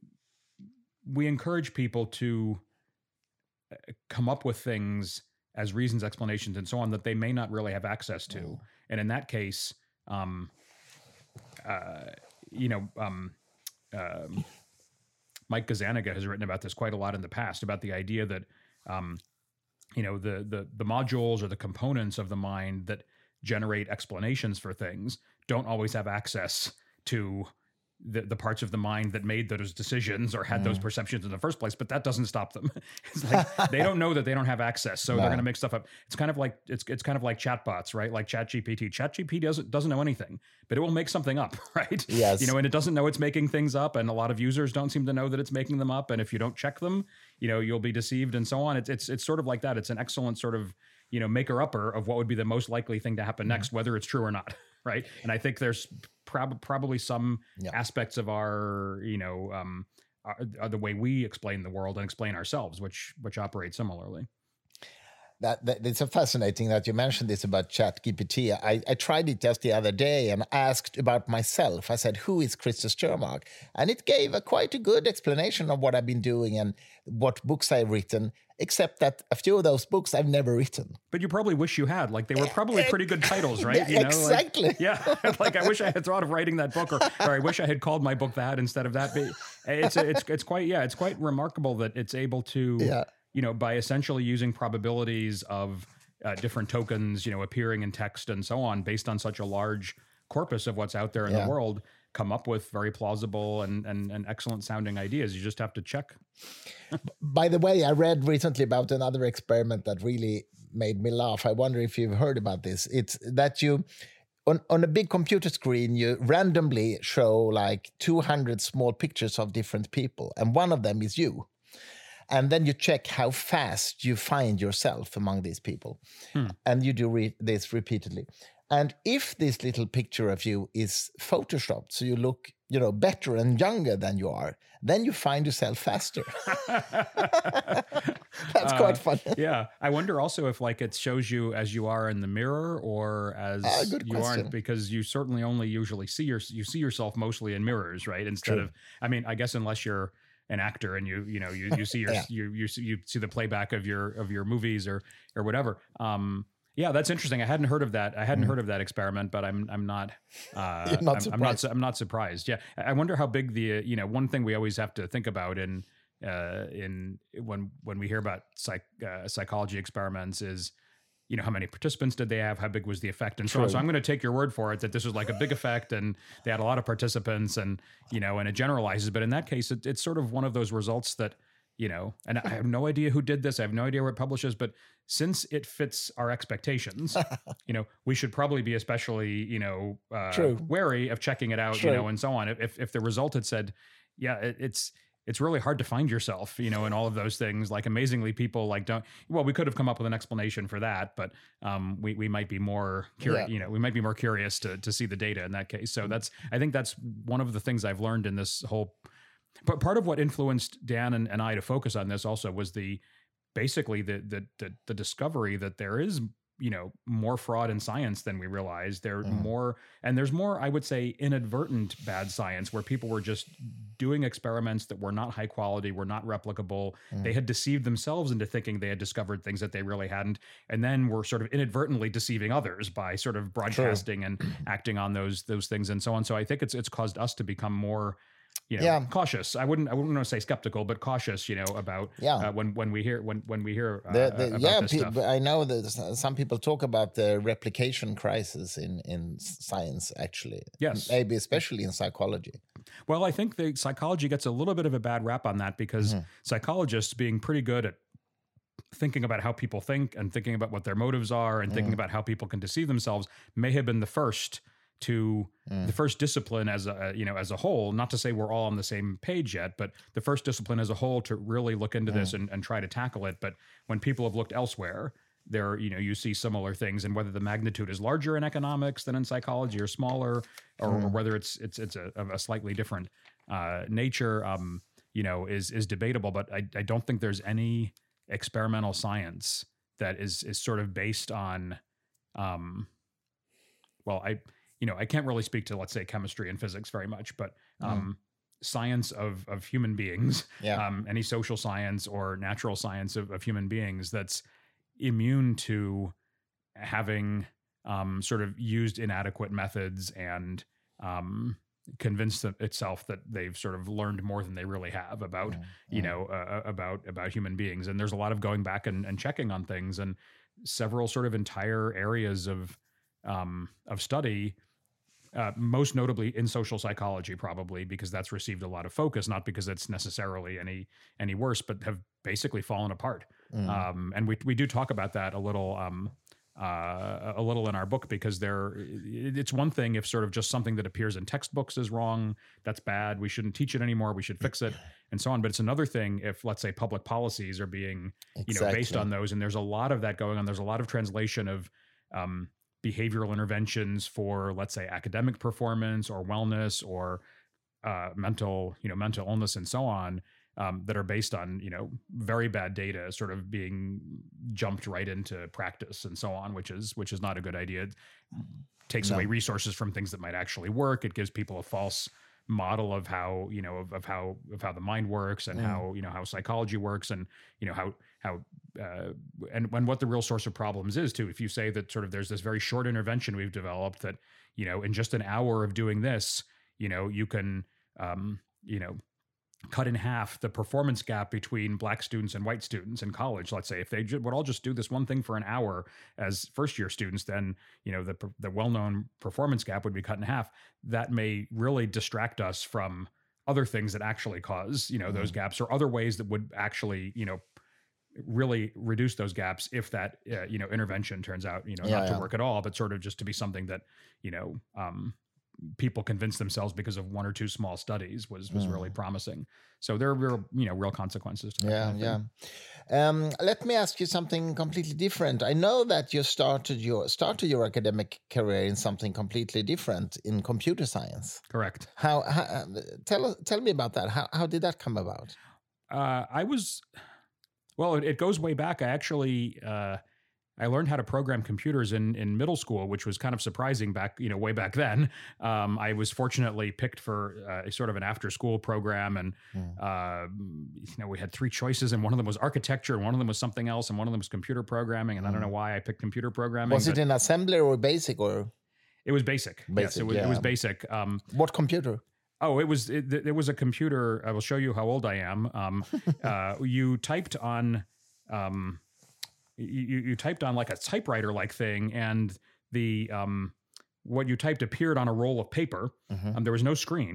we encourage people to come up with things as reasons, explanations, and so on that they may not really have access to. Mm. And in that case, um, uh, you know, um, um, Mike Gazzaniga has written about this quite a lot in the past, about the idea that, um, you know, the, the the modules or the components of the mind that generate explanations for things don't always have access to the, the parts of the mind that made those decisions or had mm. those perceptions in the first place, but that doesn't stop them. It's like they don't know that they don't have access, so no. they're going to make stuff up. It's kind of like it's it's kind of like chatbots, right? Like ChatGPT. ChatGPT doesn't doesn't know anything, but it will make something up, right? Yes. You know, and it doesn't know it's making things up, and a lot of users don't seem to know that it's making them up. And if you don't check them, you know, you'll be deceived and so on. It's it's it's sort of like that. It's an excellent sort of, you know, maker-upper of what would be the most likely thing to happen mm. next, whether it's true or not, right? And I think there's prob- probably some yeah. aspects of our, you know, um, our, our, the way we explain the world and explain ourselves, which which operate similarly. That, that it's so fascinating that you mentioned this about ChatGPT. I, I tried it just the other day and asked about myself. I said, who is Christer Sturmark? And it gave a quite a good explanation of what I've been doing and what books I've written, except that a few of those books I've never written. But you probably wish you had. Like, they were probably pretty good titles, right? Yeah, you know, exactly. Like, yeah. Like, I wish I had thought of writing that book, or, or I wish I had called my book that instead of that. But it's, it's, it's quite, yeah, it's quite remarkable that it's able to... Yeah. You know, by essentially using probabilities of uh, different tokens, you know, appearing in text and so on, based on such a large corpus of what's out there in yeah. the world, come up with very plausible and, and, and excellent sounding ideas. You just have to check. By the way, I read recently about another experiment that really made me laugh. I wonder if you've heard about this. It's that you... On, on a big computer screen, you randomly show like two hundred small pictures of different people, and one of them is you. And then you check how fast you find yourself among these people. Hmm. And you do re- this repeatedly. And if this little picture of you is photoshopped, so you look, you know, better and younger than you are, then you find yourself faster. That's quite fun. Uh, yeah. I wonder also if, like, it shows you as you are in the mirror or as uh, good you question. aren't, because you certainly only usually see your, you see yourself mostly in mirrors, right? Instead True. of, I mean, I guess unless you're an actor and you you know you you see your yeah. you you see, you see the playback of your of your movies or or whatever. Um, yeah, that's interesting. I hadn't heard of that. I hadn't mm. heard of that experiment, but I'm I'm not uh, You're not I'm, I'm not I'm not surprised. Yeah, I wonder how big the uh, you know one thing we always have to think about in uh, in when when we hear about psych uh, psychology experiments is, you know, how many participants did they have? How big was the effect? And so True. on. So I'm going to take your word for it that this was like a big effect and they had a lot of participants and, you know, and it generalizes. But in that case, it, it's sort of one of those results that you know, and I have no idea who did this. I have no idea where it publishes, but since it fits our expectations, you know, we should probably be especially, you know, uh, wary of checking it out, True. you know, and so on. If if the result had said, yeah, it, it's it's really hard to find yourself, you know, and all of those things. Like amazingly, people like don't. Well, we could have come up with an explanation for that, but um, we we might be more curious. Yeah. You know, we might be more curious to to see the data in that case. So that's I think that's one of the things I've learned in this whole. But part of what influenced Dan and, and I to focus on this also was the basically the, the the the discovery that there is, you know, more fraud in science than we realize. There mm. more, and there's more, I would say, inadvertent bad science where people were just doing experiments that were not high quality, were not replicable. Mm. They had deceived themselves into thinking they had discovered things that they really hadn't, and then were sort of inadvertently deceiving others by sort of broadcasting True. and acting on those those things and so on. So I think it's it's caused us to become more. You know, yeah. cautious. I wouldn't. I wouldn't want to say skeptical, but cautious. You know, about yeah. uh, when when we hear when when we hear uh, the, the, about yeah. this Pe- stuff. I know that some people talk about the replication crisis in in science. Actually, yes, maybe especially in psychology. Well, I think the psychology gets a little bit of a bad rap on that because mm-hmm. psychologists, being pretty good at thinking about how people think and thinking about what their motives are and mm. thinking about how people can deceive themselves, may have been the first. to mm. the first discipline as a, you know, as a whole, not to say we're all on the same page yet, but the first discipline as a whole to really look into mm. this and, and try to tackle it. But when people have looked elsewhere, there, you know, you see similar things, and whether the magnitude is larger in economics than in psychology or smaller, or, mm. or whether it's, it's, it's a, of a slightly different uh, nature, um, you know, is, is debatable. But I, I don't think there's any experimental science that is, is sort of based on, um, well, I, you know, I can't really speak to, let's say, chemistry and physics very much, but um, mm. science of of human beings, yeah. um, any social science or natural science of, of human beings that's immune to having um, sort of used inadequate methods and um, convinced itself that they've sort of learned more than they really have about, mm. you mm. know, uh, about about human beings. And there's a lot of going back and, and checking on things, and several sort of entire areas of um, of study. Uh, most notably in social psychology, probably because that's received a lot of focus, not because it's necessarily any any worse, but have basically fallen apart. Mm. Um, and we we do talk about that a little um, uh, a little in our book, because there it's one thing if sort of just something that appears in textbooks is wrong, that's bad, we shouldn't teach it anymore, we should fix it, and so on. But it's another thing if, let's say, public policies are being exactly. you know based on those, and there's a lot of that going on. There's a lot of translation of um, behavioral interventions for, let's say, academic performance or wellness or uh, mental, you know, mental illness and so on, um, that are based on, you know, very bad data sort of being jumped right into practice and so on, which is, which is not a good idea. It takes no. away resources from things that might actually work. It gives people a false model of how, you know, of, of how, of how the mind works and mm. how, you know, how psychology works and, you know, how, how, uh, and when what the real source of problems is too. If you say that sort of there's this very short intervention we've developed that, you know, in just an hour of doing this, you know, you can, um, you know, cut in half the performance gap between black students and white students in college. Let's say if they would all just do this one thing for an hour as first year students, then, you know, the, the well-known performance gap would be cut in half. That may really distract us from other things that actually cause, you know, mm. those gaps, or other ways that would actually, you know, really reduce those gaps if that, uh, you know, intervention turns out, you know, yeah, not yeah. to work at all, but sort of just to be something that, you know, um, people convinced themselves because of one or two small studies was was mm. really promising. So there are real, you know, real consequences to that. Yeah, kind of yeah. Um, let me ask you something completely different. I know that you started your started your academic career in something completely different, in computer science. Correct. How, how tell tell me about that. How how did that come about? Uh, I was, well, it, it goes way back. I actually. Uh, I learned how to program computers in, in middle school, which was kind of surprising back, you know, way back then. Um, I was fortunately picked for uh, sort of an after school program. And, mm. uh, you know, we had three choices, and one of them was architecture, and one of them was something else, and one of them was computer programming. And mm. I don't know why I picked computer programming. Was it in assembly or basic or? It was basic. basic yes, it was, yeah. it was basic. Um, what computer? Oh, it was, it, it was a computer. I will show you how old I am. Um, uh, you typed on, um, You, you typed on like a typewriter-like thing, and the um, what you typed appeared on a roll of paper. Mm-hmm. Um, there was no screen,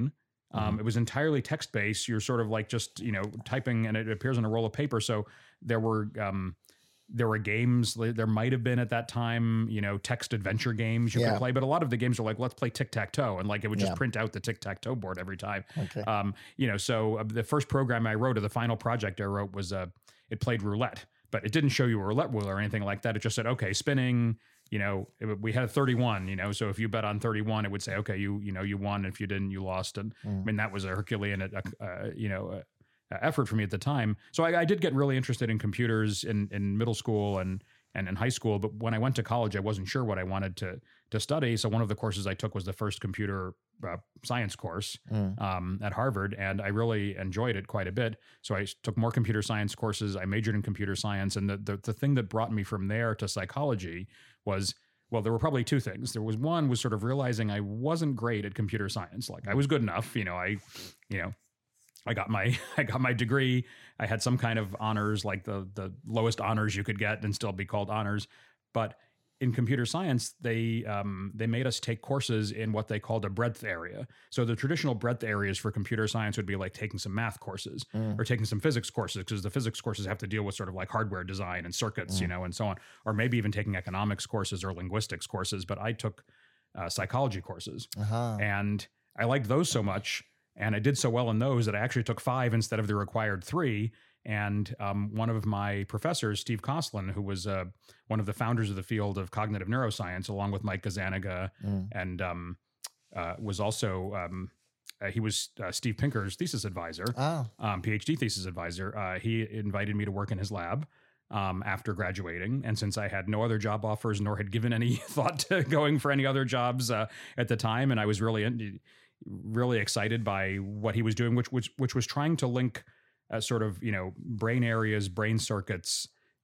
Um, mm-hmm. It was entirely text-based. You're sort of like just, you know, typing and it appears on a roll of paper. So there were... Um, There were games, there might have been at that time, you know, text adventure games you yeah. could play, but a lot of the games are like, let's play tic-tac-toe. And like, it would just yeah. print out the tic-tac-toe board every time. Okay. Um, you know, so uh, the first program I wrote or the final project I wrote was, uh, it played roulette, but it didn't show you a roulette wheel or anything like that. It just said, okay, spinning, you know, it, we had a thirty-one, you know, so if you bet on thirty-one, it would say, okay, you, you know, you won. If you didn't, you lost. And mm. I mean, that was a Herculean, uh, uh, you know, uh, effort for me at the time. So I, I did get really interested in computers in, in middle school and, and in high school. But when I went to college, I wasn't sure what I wanted to, to study. So one of the courses I took was the first computer uh, science course mm. um, at Harvard. And I really enjoyed it quite a bit. So I took more computer science courses. I majored in computer science. And the, the, the thing that brought me from there to psychology was, well, there were probably two things. There was one was sort of realizing I wasn't great at computer science. Like I was good enough, you know, I, you know, I got my I got my degree. I had some kind of honors, like the the lowest honors you could get and still be called honors. But in computer science, they um, they made us take courses in what they called a breadth area. So the traditional breadth areas for computer science would be like taking some math courses mm. or taking some physics courses, because the physics courses have to deal with sort of like hardware design and circuits, mm. you know, and so on. Or maybe even taking economics courses or linguistics courses. But I took uh, psychology courses, uh-huh. and I liked those so much. And I did so well in those that I actually took five instead of the required three. And um, one of my professors, Steve Koslin, who was uh, one of the founders of the field of cognitive neuroscience, along with Mike Gazzaniga, mm. and um, uh, was also, um, uh, he was uh, Steve Pinker's thesis advisor, oh. um, PhD thesis advisor. Uh, he invited me to work in his lab um, after graduating. And since I had no other job offers, nor had given any thought to going for any other jobs uh, at the time, and I was really in, really excited by what he was doing, which which which was trying to link uh, sort of, you know, brain areas, brain circuits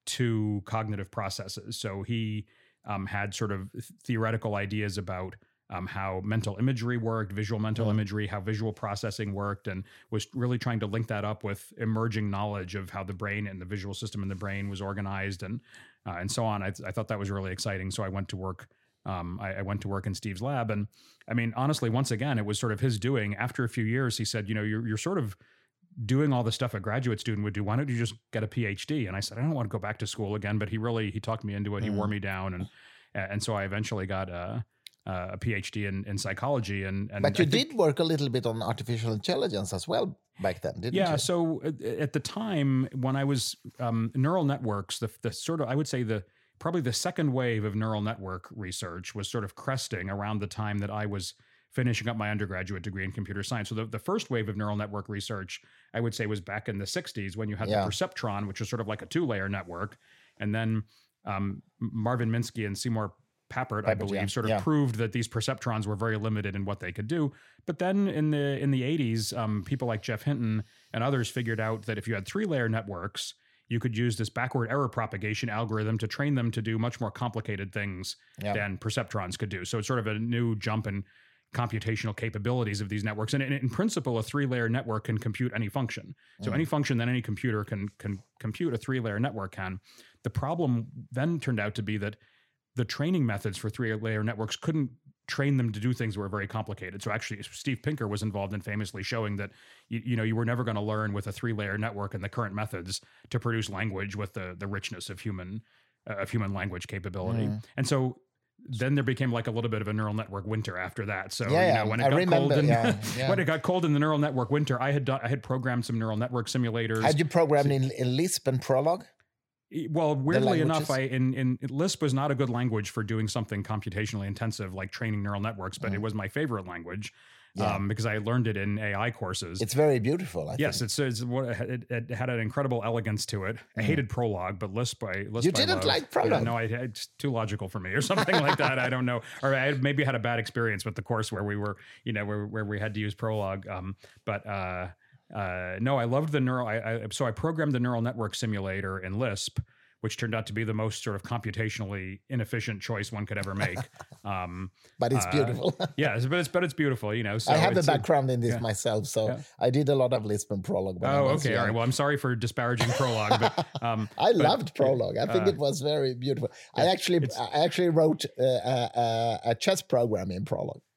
to cognitive processes. So he um, had sort of theoretical ideas about um, how mental imagery worked, visual mental mm. imagery, how visual processing worked, and was really trying to link that up with emerging knowledge of how the brain and the visual system in the brain was organized, and uh, and so on. I, I thought that was really exciting. So I went to work Um, I, I went to work in Steve's lab, and I mean, honestly, once again, it was sort of his doing. After a few years, he said, you know, you're, you're sort of doing all the stuff a graduate student would do. Why don't you just get a PhD? And I said, I don't want to go back to school again, but he really, he talked me into it. Mm. He wore me down. And, and so I eventually got a, a PhD in, in psychology. And, and But you I think, did work a little bit on artificial intelligence as well back then, didn't yeah, you? Yeah. So at the time when I was um, neural networks, the, the sort of, I would say the, probably the second wave of neural network research was sort of cresting around the time that I was finishing up my undergraduate degree in computer science. So the, the first wave of neural network research, I would say, was back in the sixties when you had yeah. the perceptron, which was sort of like a two-layer network. And then um, Marvin Minsky and Seymour Papert, Papert I believe, yeah. sort of yeah. proved that these perceptrons were very limited in what they could do. But then in the in the eighties, um, people like Geoff Hinton and others figured out that if you had three-layer networks, you could use this backward error propagation algorithm to train them to do much more complicated things yeah. than perceptrons could do. So it's sort of a new jump in computational capabilities of these networks. And in, in principle, a three-layer network can compute any function. So mm. any function that any computer can, can compute, a three-layer network can. The problem then turned out to be that the training methods for three-layer networks couldn't train them to do things that were very complicated. So actually, Steve Pinker was involved in famously showing that, you, you know, you were never going to learn with a three-layer network and the current methods to produce language with the the richness of human uh, of human language capability. Mm. And so then there became like a little bit of a neural network winter after that. So yeah, you know, when it I got remember, cold in, yeah, yeah. when it got cold in the neural network winter, I had done, I had programmed some neural network simulators. Had you programmed in, in Lisp and Prolog? Well, weirdly enough, I in, in Lisp was not a good language for doing something computationally intensive like training neural networks, but mm. it was my favorite language yeah. um, because I learned it in A I courses. It's very beautiful. I yes, think. it's, it's what it, it had an incredible elegance to it. I mm. hated Prolog, but Lisp I Lisp you I didn't love. like Prolog? Yeah, no, I, it's too logical for me, or something like that. I don't know, or I maybe had a bad experience with the course where we were, you know, where where we had to use Prolog. Um, but uh, uh, no, I loved the neural. I, I so I programmed the neural network simulator in Lisp, which turned out to be the most sort of computationally inefficient choice one could ever make. Um, but it's uh, beautiful. yeah, but it's but it's beautiful, you know. So I have a it's, background in this yeah. myself, so yeah. I did a lot of Lisp and Prolog. Oh, okay, young. All right. Well, I'm sorry for disparaging Prolog, but um, I but, loved Prolog. I think uh, it was very beautiful. I actually, I actually wrote uh, uh, a chess program in Prolog.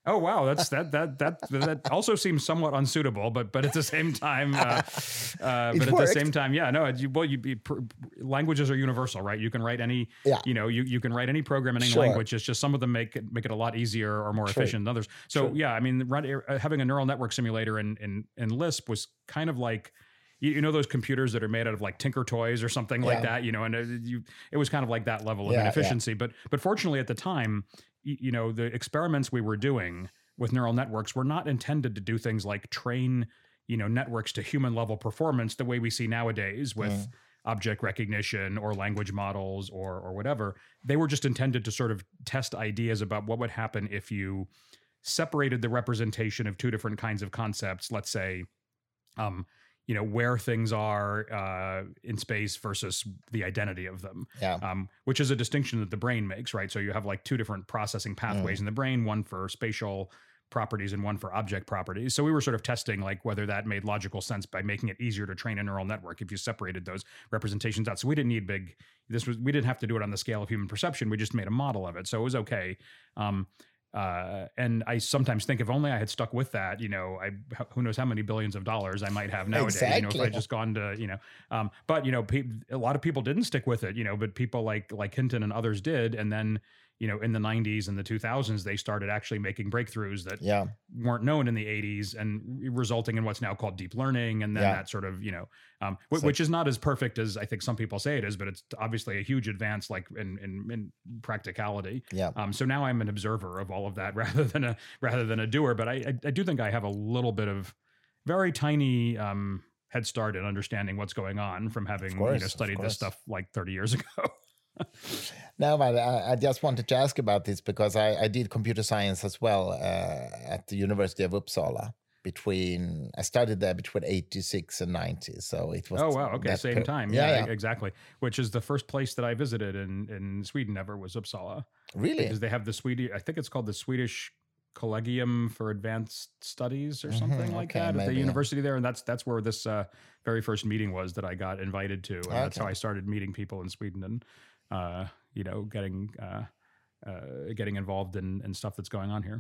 Oh wow, that's that that that that also seems somewhat unsuitable, but but at the same time, uh, uh, but at worked. the same time, yeah, no, you, well, you be, pr- languages are universal, right? You can write any, Yeah. you know, you, you can write any program in any Sure. language. It's just some of them make it make it a lot easier or more True. efficient than others. So True. yeah, I mean, run, uh, having a neural network simulator in in in Lisp was kind of like. You, you know those computers that are made out of like Tinker Toys or something like Yeah. that, you know, and it, you, it was kind of like that level of Yeah, inefficiency. But but fortunately at the time, you, you know, the experiments we were doing with neural networks were not intended to do things like train, you know, networks to human level performance the way we see nowadays with Mm. object recognition or language models or or whatever. They were just intended to sort of test ideas about what would happen if you separated the representation of two different kinds of concepts, let's say, um, you know, where things are uh, in space versus the identity of them, Yeah. um, which is a distinction that the brain makes, right? So you have like two different processing pathways Mm. in the brain, one for spatial properties and one for object properties. So we were sort of testing like whether that made logical sense by making it easier to train a neural network if you separated those representations out. So we didn't need big, this was, we didn't have to do it on the scale of human perception. We just made a model of it. So it was okay. Um, Uh, and I sometimes think if only I had stuck with that, you know, I who knows how many billions of dollars I might have nowadays. You know, if Exactly. I just gone to, you know, um, but you know, pe- a lot of people didn't stick with it, you know, but people like like Hinton and others did, and then you know, in the nineties and the two thousands, they started actually making breakthroughs that Yeah. weren't known in the eighties, and resulting in what's now called deep learning, and then Yeah. that sort of, you know, um, wh- So- which is not as perfect as I think some people say it is, but it's obviously a huge advance, like in in, in practicality. Yeah. Um, so now I'm an observer of all of that rather than a rather than a doer. But I I, I do think I have a little bit of very tiny um, head start in understanding what's going on from having course, you know of studied this course. stuff like thirty years ago. No, but I, I just wanted to ask about this because I, I did computer science as well uh, at the University of Uppsala. Between I studied there between eighty-six and ninety, so it was. Oh wow! Okay, that same per- time. Yeah, Yeah, yeah. exactly. Which is the first place that I visited in in Sweden ever was Uppsala, Really? because they have the Swedish. I think it's called the Swedish Collegium for Advanced Studies or Mhm, something like okay, that at maybe, the yeah. university there, and that's that's where this uh, very first meeting was that I got invited to, and that's Okay. how I started meeting people in Sweden and uh, you know getting uh, uh, getting involved in, in stuff that's going on here.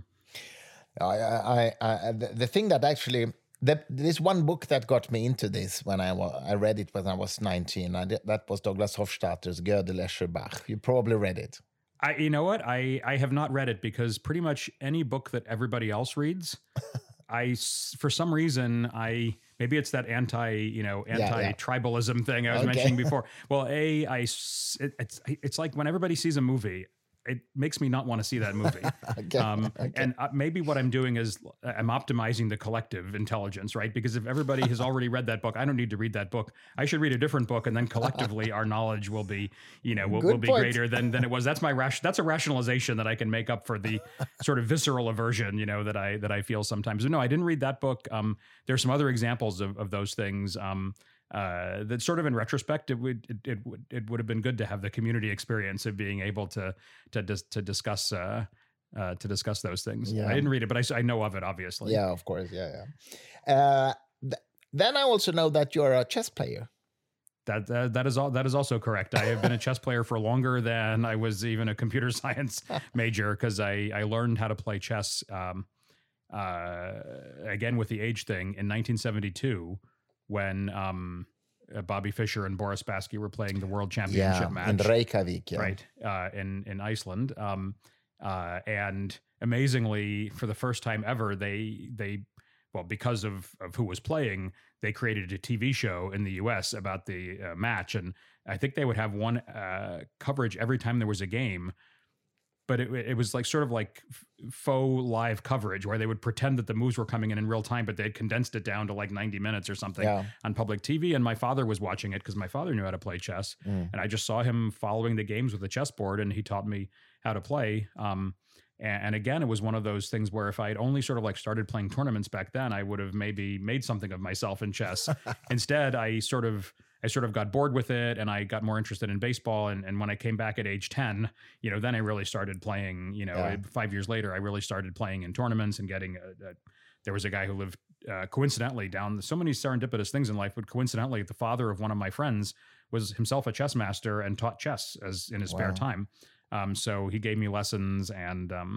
I, I, I, the the thing that actually, the, there's one book that got me into this when I wa- I read it when I was nineteen. I did, that was Douglas Hofstadter's Gödel, Escher, Bach. You probably read it. I, you know what? I, I have not read it because pretty much any book that everybody else reads, I, s- for some reason, I, maybe it's that anti, you know, Yeah, yeah. anti-tribalism thing I was Okay. mentioning before. Well, A, I, s- it, it's, it's like when everybody sees a movie, it makes me not want to see that movie. Okay. Um, okay. And uh, maybe what I'm doing is uh, I'm optimizing the collective intelligence, right? Because if everybody has already read that book, I don't need to read that book. I should read a different book, and then collectively our knowledge will be, you know, will, Good will be point. greater than than it was. That's my ration. That's a rationalization that I can make up for the sort of visceral aversion, you know, that I that I feel sometimes. No, I didn't read that book. Um, there's some other examples of of those things. Um, uh, that sort of in retrospect, it would it, it would it would have been good to have the community experience of being able to to dis, to discuss uh, uh, to discuss those things. Yeah. I didn't read it, but I, s- I know of it obviously. Yeah, of course. Yeah, yeah. Uh, th- then I also know that you're a chess player. That uh, that is all. That is also correct. I have been a chess player for longer than I was even a computer science major, because I I learned how to play chess. Um, uh, again with the age thing in nineteen seventy-two, when um, uh, Bobby Fischer and Boris Spassky were playing the World Championship Yeah, match. in Reykjavik. Yeah. Right, uh, in in Iceland, um, uh, and amazingly, for the first time ever, they they well because of of who was playing, they created a T V show in the U S about the uh, match, and I think they would have one uh, coverage every time there was a game. But it, it was like sort of like f- faux live coverage where they would pretend that the moves were coming in in real time, but they had condensed it down to like ninety minutes or something Yeah. on public T V. And my father was watching it because my father knew how to play chess. Mm. And I just saw him following the games with the chessboard, and he taught me how to play. Um, and, and again, it was one of those things where if I had only sort of like started playing tournaments back then, I would have maybe made something of myself in chess. Instead, I sort of I sort of got bored with it, and I got more interested in baseball. And, and when I came back at age ten, you know, then I really started playing, you know, Yeah. five years later, I really started playing in tournaments and getting a, a there was a guy who lived uh, coincidentally down so many serendipitous things in life, but coincidentally, the father of one of my friends was himself a chess master and taught chess as in his spare Wow. time. Um, so he gave me lessons, and um,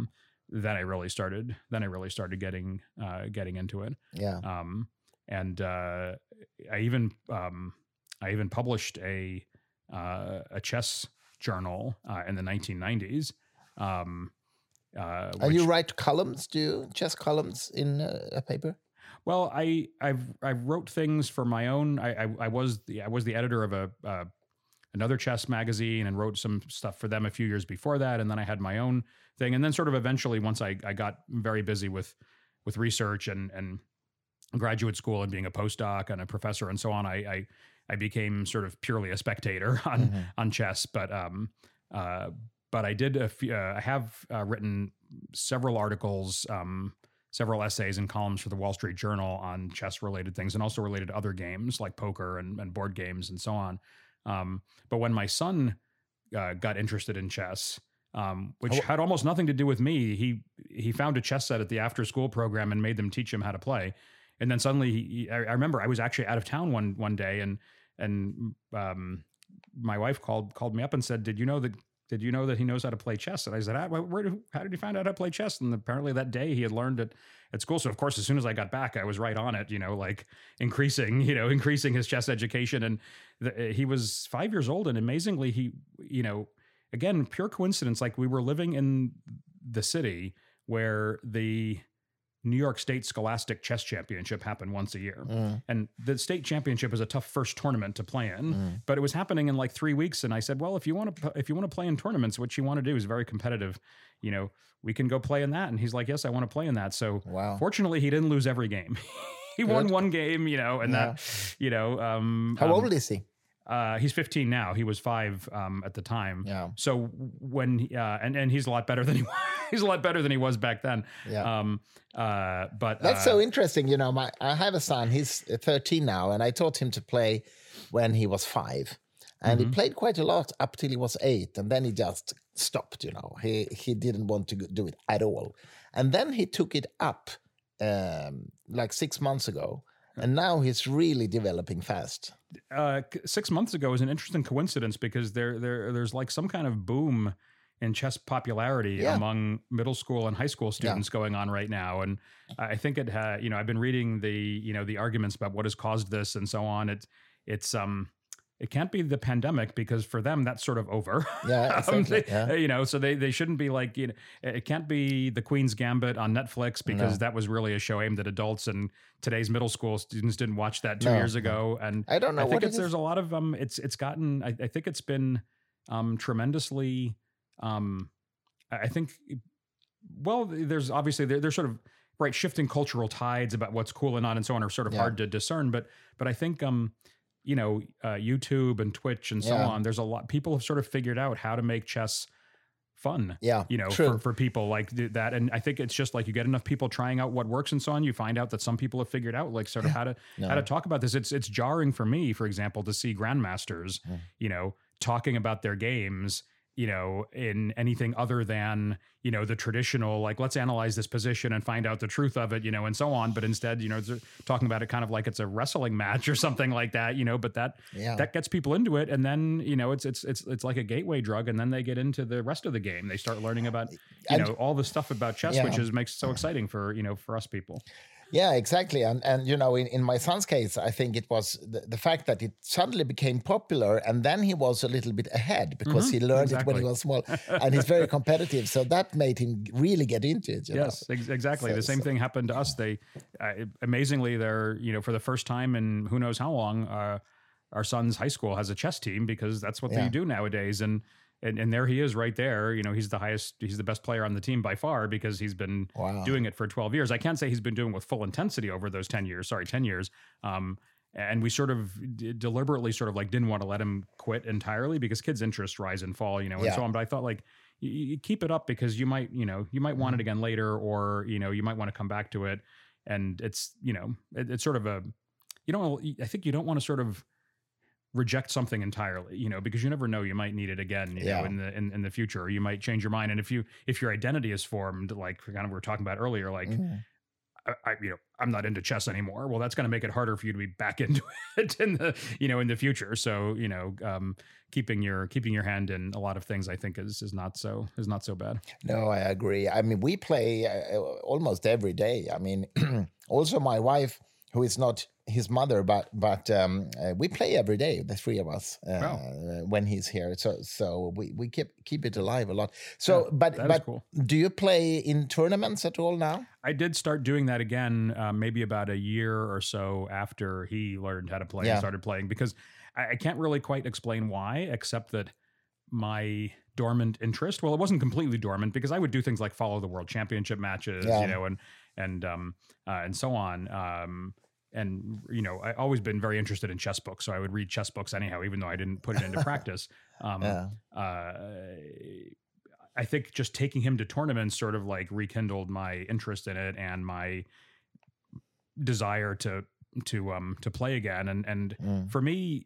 then I really started, then I really started getting, uh, getting into it. Yeah. Um, and, uh, I even, um, I even published a, uh, a chess journal, uh, in the nineteen nineties. Um, uh, and which, you write columns, do you? Chess columns in uh, a paper? Well, I, I've, I wrote things for my own, I, I, I was the, I was the editor of a, uh, another chess magazine and wrote some stuff for them a few years before that. And then I had my own thing. And then sort of eventually, once I, I got very busy with, with research and, and graduate school and being a postdoc and a professor and so on, I, I, I became sort of purely a spectator on, mm-hmm. on chess. But, um, uh, but I did, a few, uh, I have uh, written several articles, um, several essays and columns for the Wall Street Journal on chess related things and also related to other games like poker and, and board games and so on. Um, but when my son uh, got interested in chess, um, which oh. had almost nothing to do with me, he he found a chess set at the after school program and made them teach him how to play. And then suddenly, he, I, I remember I was actually out of town one one day, and and um, my wife called called me up and said, "Did you know that?" Did you know that he knows how to play chess? And I said, ah, where did, how did he find out how to play chess? And apparently that day he had learned it at school. So of course, as soon as I got back, I was right on it, you know, like increasing, you know, increasing his chess education. And the, he was five years old. And amazingly, he, you know, again, pure coincidence, like we were living in the city where the New York State Scholastic Chess Championship happened once a year. Mm. And the state championship is a tough first tournament to play in, mm. but it was happening in like three weeks. And I said, well, if you want to, if you want to play in tournaments, what you want to do is very competitive. You know, we can go play in that. And he's like, yes, I want to play in that. So wow. Fortunately, he didn't lose every game. He Good. won one game, you know, and yeah. that, you know, um, how um, old is he? Uh, he's fifteen now. He was five um, at the time. Yeah. So when he, uh, and and he's a lot better than he was. He's a lot better than he was back then. Yeah. Um. Uh. But that's uh, so interesting. You know, my I have a son. He's thirteen now, and I taught him to play when he was five, and mm-hmm. he played quite a lot up till he was eight, and then he just stopped. You know, he he didn't want to do it at all, and then he took it up um, like six months ago. And now he's really developing fast. Uh, six months ago is an interesting coincidence because there, there, there's like some kind of boom in chess popularity yeah. among middle school and high school students yeah. going on right now. And I think it had, you know, I've been reading the, you know, the arguments about what has caused this and so on. It's, it's, um, it can't be the pandemic because for them that's sort of over. Yeah, exactly. um, they, yeah. You know, so they they shouldn't be like, you know, it can't be The Queen's Gambit on Netflix because no. that was really a show aimed at adults, and today's middle school students didn't watch that two no, years ago. No. And I don't know. I think what it's, there's a lot of um, it's it's gotten. I, I think it's been um tremendously. Um, I think, well, there's obviously there, there's sort of right shifting cultural tides about what's cool and not and so on are sort of yeah. hard to discern, but but I think um. you know, uh, YouTube and Twitch and so yeah. on. There's a lot, people have sort of figured out how to make chess fun, yeah, you know, for, for people like that. And I think it's just like you get enough people trying out what works and so on. You find out that some people have figured out like sort of how to, no. how to talk about this. It's, it's jarring for me, for example, to see grandmasters, mm. you know, talking about their games, you know, in anything other than, you know, the traditional, like, let's analyze this position and find out the truth of it, you know, and so on. But instead, you know, they're talking about it kind of like it's a wrestling match or something like that, you know, but that, yeah. that gets people into it. And then, you know, it's, it's, it's, it's like a gateway drug. And then they get into the rest of the game. They start learning about, you and, know, all the stuff about chess, yeah. which is makes it so exciting for, you know, for us people. Yeah, exactly. And, and you know, in, in my son's case, I think it was the, the fact that it suddenly became popular and then he was a little bit ahead because mm-hmm, he learned exactly. it when he was small and he's very competitive. So that made him really get into it. You yes, know? ex- exactly. So, the same so, thing happened to us. They, uh, amazingly, they're, you know, for the first time in who knows how long, uh, our son's high school has a chess team because that's what yeah. they do nowadays. And And and there he is right there. You know, he's the highest, he's the best player on the team by far because he's been wow. doing it for twelve years. I can't say he's been doing it with full intensity over those ten years. Sorry, ten years. Um, and we sort of d- deliberately sort of like didn't want to let him quit entirely because kids' interests rise and fall, you know, and yeah. so on. But I thought like, you, you keep it up because you might, you know, you might want it again later, or, you know, you might want to come back to it. And it's, you know, it, it's sort of a, you don't, I think you don't want to sort of reject something entirely, you know, because you never know, you might need it again, you yeah. know, in the, in, in the future, or you might change your mind. And if you, if your identity is formed, like kind of we were talking about earlier, like, mm-hmm. I, I, you know, I'm not into chess anymore. Well, that's going to make it harder for you to be back into it in the, you know, in the future. So, you know, um, keeping your keeping your hand in a lot of things, I think, is is not so is not so bad. No, I agree. I mean, we play uh, almost every day. I mean, also my wife, who is not his mother, but but um, uh, we play every day, the three of us, uh, wow. when he's here. So so we, we keep keep it alive a lot. So, yeah, but but cool. Do you play in tournaments at all now? I did start doing that again, uh, maybe about a year or so after he learned how to play yeah. and started playing, because I, I can't really quite explain why, except that my dormant interest, well, it wasn't completely dormant, because I would do things like follow the world championship matches, yeah. you know, and and um uh, and so on. Um, and you know, I always been very interested in chess books, so I would read chess books anyhow, even though I didn't put it into practice. Um, yeah. uh, I think just taking him to tournaments sort of like rekindled my interest in it and my desire to to um to play again. And and mm. for me,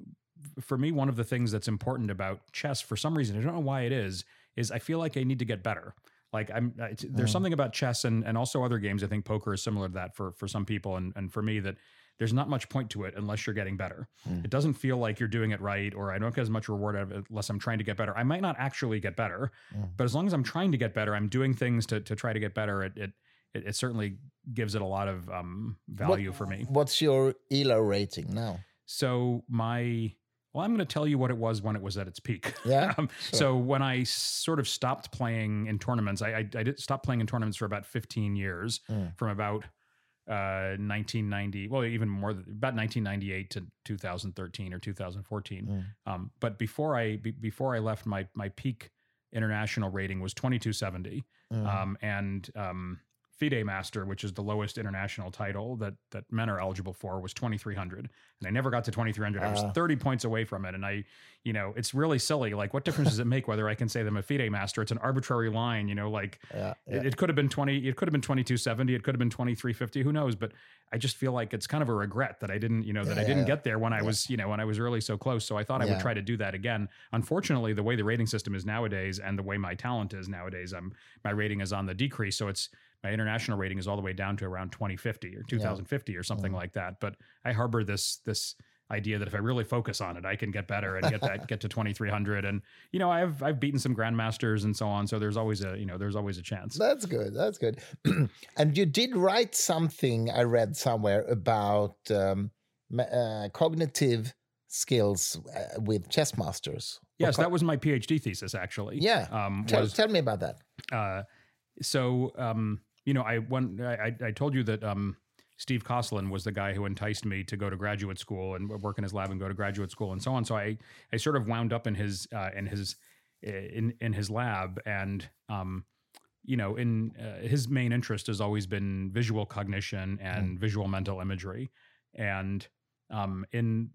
for me, one of the things that's important about chess, for some reason, I don't know why it is, is I feel like I need to get better. Like I'm, there's mm. something about chess and, and also other games. I think poker is similar to that for, for some people. And, and for me, that there's not much point to it unless you're getting better. Mm. It doesn't feel like you're doing it right, or I don't get as much reward out of it unless I'm trying to get better. I might not actually get better, mm. but as long as I'm trying to get better, I'm doing things to, to try to get better. It, it, it, it certainly gives it a lot of um, value what, for me. What's your E L O rating now? So my, well, I'm going to tell you what it was when it was at its peak. Yeah. um, sure. So when I sort of stopped playing in tournaments, I, I, I did stop playing in tournaments for about fifteen years, mm. from about uh, nineteen ninety, well, even more, about nineteen ninety-eight to two thousand thirteen or two thousand fourteen. Mm. Um, but before I be, before I left, my my peak international rating was twenty-two seventy, mm. um, and um, FIDE Master, which is the lowest international title that that men are eligible for, was twenty-three hundred, and I never got to twenty-three hundred. Uh, I was thirty points away from it, and I, you know, it's really silly. Like, what difference does it make whether I can say that I'm a FIDE Master? It's an arbitrary line, you know. Like, yeah, yeah. It, it could have been twenty, it could have been twenty-two seventy, it could have been twenty-three fifty. Who knows? But I just feel like it's kind of a regret that I didn't, you know, that yeah, I didn't yeah. get there when I yeah. was, you know, when I was really so close. So I thought I yeah. would try to do that again. Unfortunately, the way the rating system is nowadays, and the way my talent is nowadays, I'm my rating is on the decrease. So it's my international rating is all the way down to around twenty fifty or two thousand fifty yeah. or something mm. like that. But I harbor this this idea that if I really focus on it, I can get better and get that get to twenty-three hundred. And you know, I've I've beaten some grandmasters and so on. So there's always a you know there's always a chance. That's good. That's good. And you did write something, I read somewhere, about um, uh, cognitive skills uh, with chess masters. Yes, co- that was my PhD thesis, actually. Yeah. Um, tell, was, tell me about that. Uh, so. Um, You know, I went. I, I told you that um, Steve Koslin was the guy who enticed me to go to graduate school and work in his lab and go to graduate school and so on. So I, I sort of wound up in his uh, in his in in his lab, and um, you know, in uh, his main interest has always been visual cognition and mm. visual mental imagery. And um, in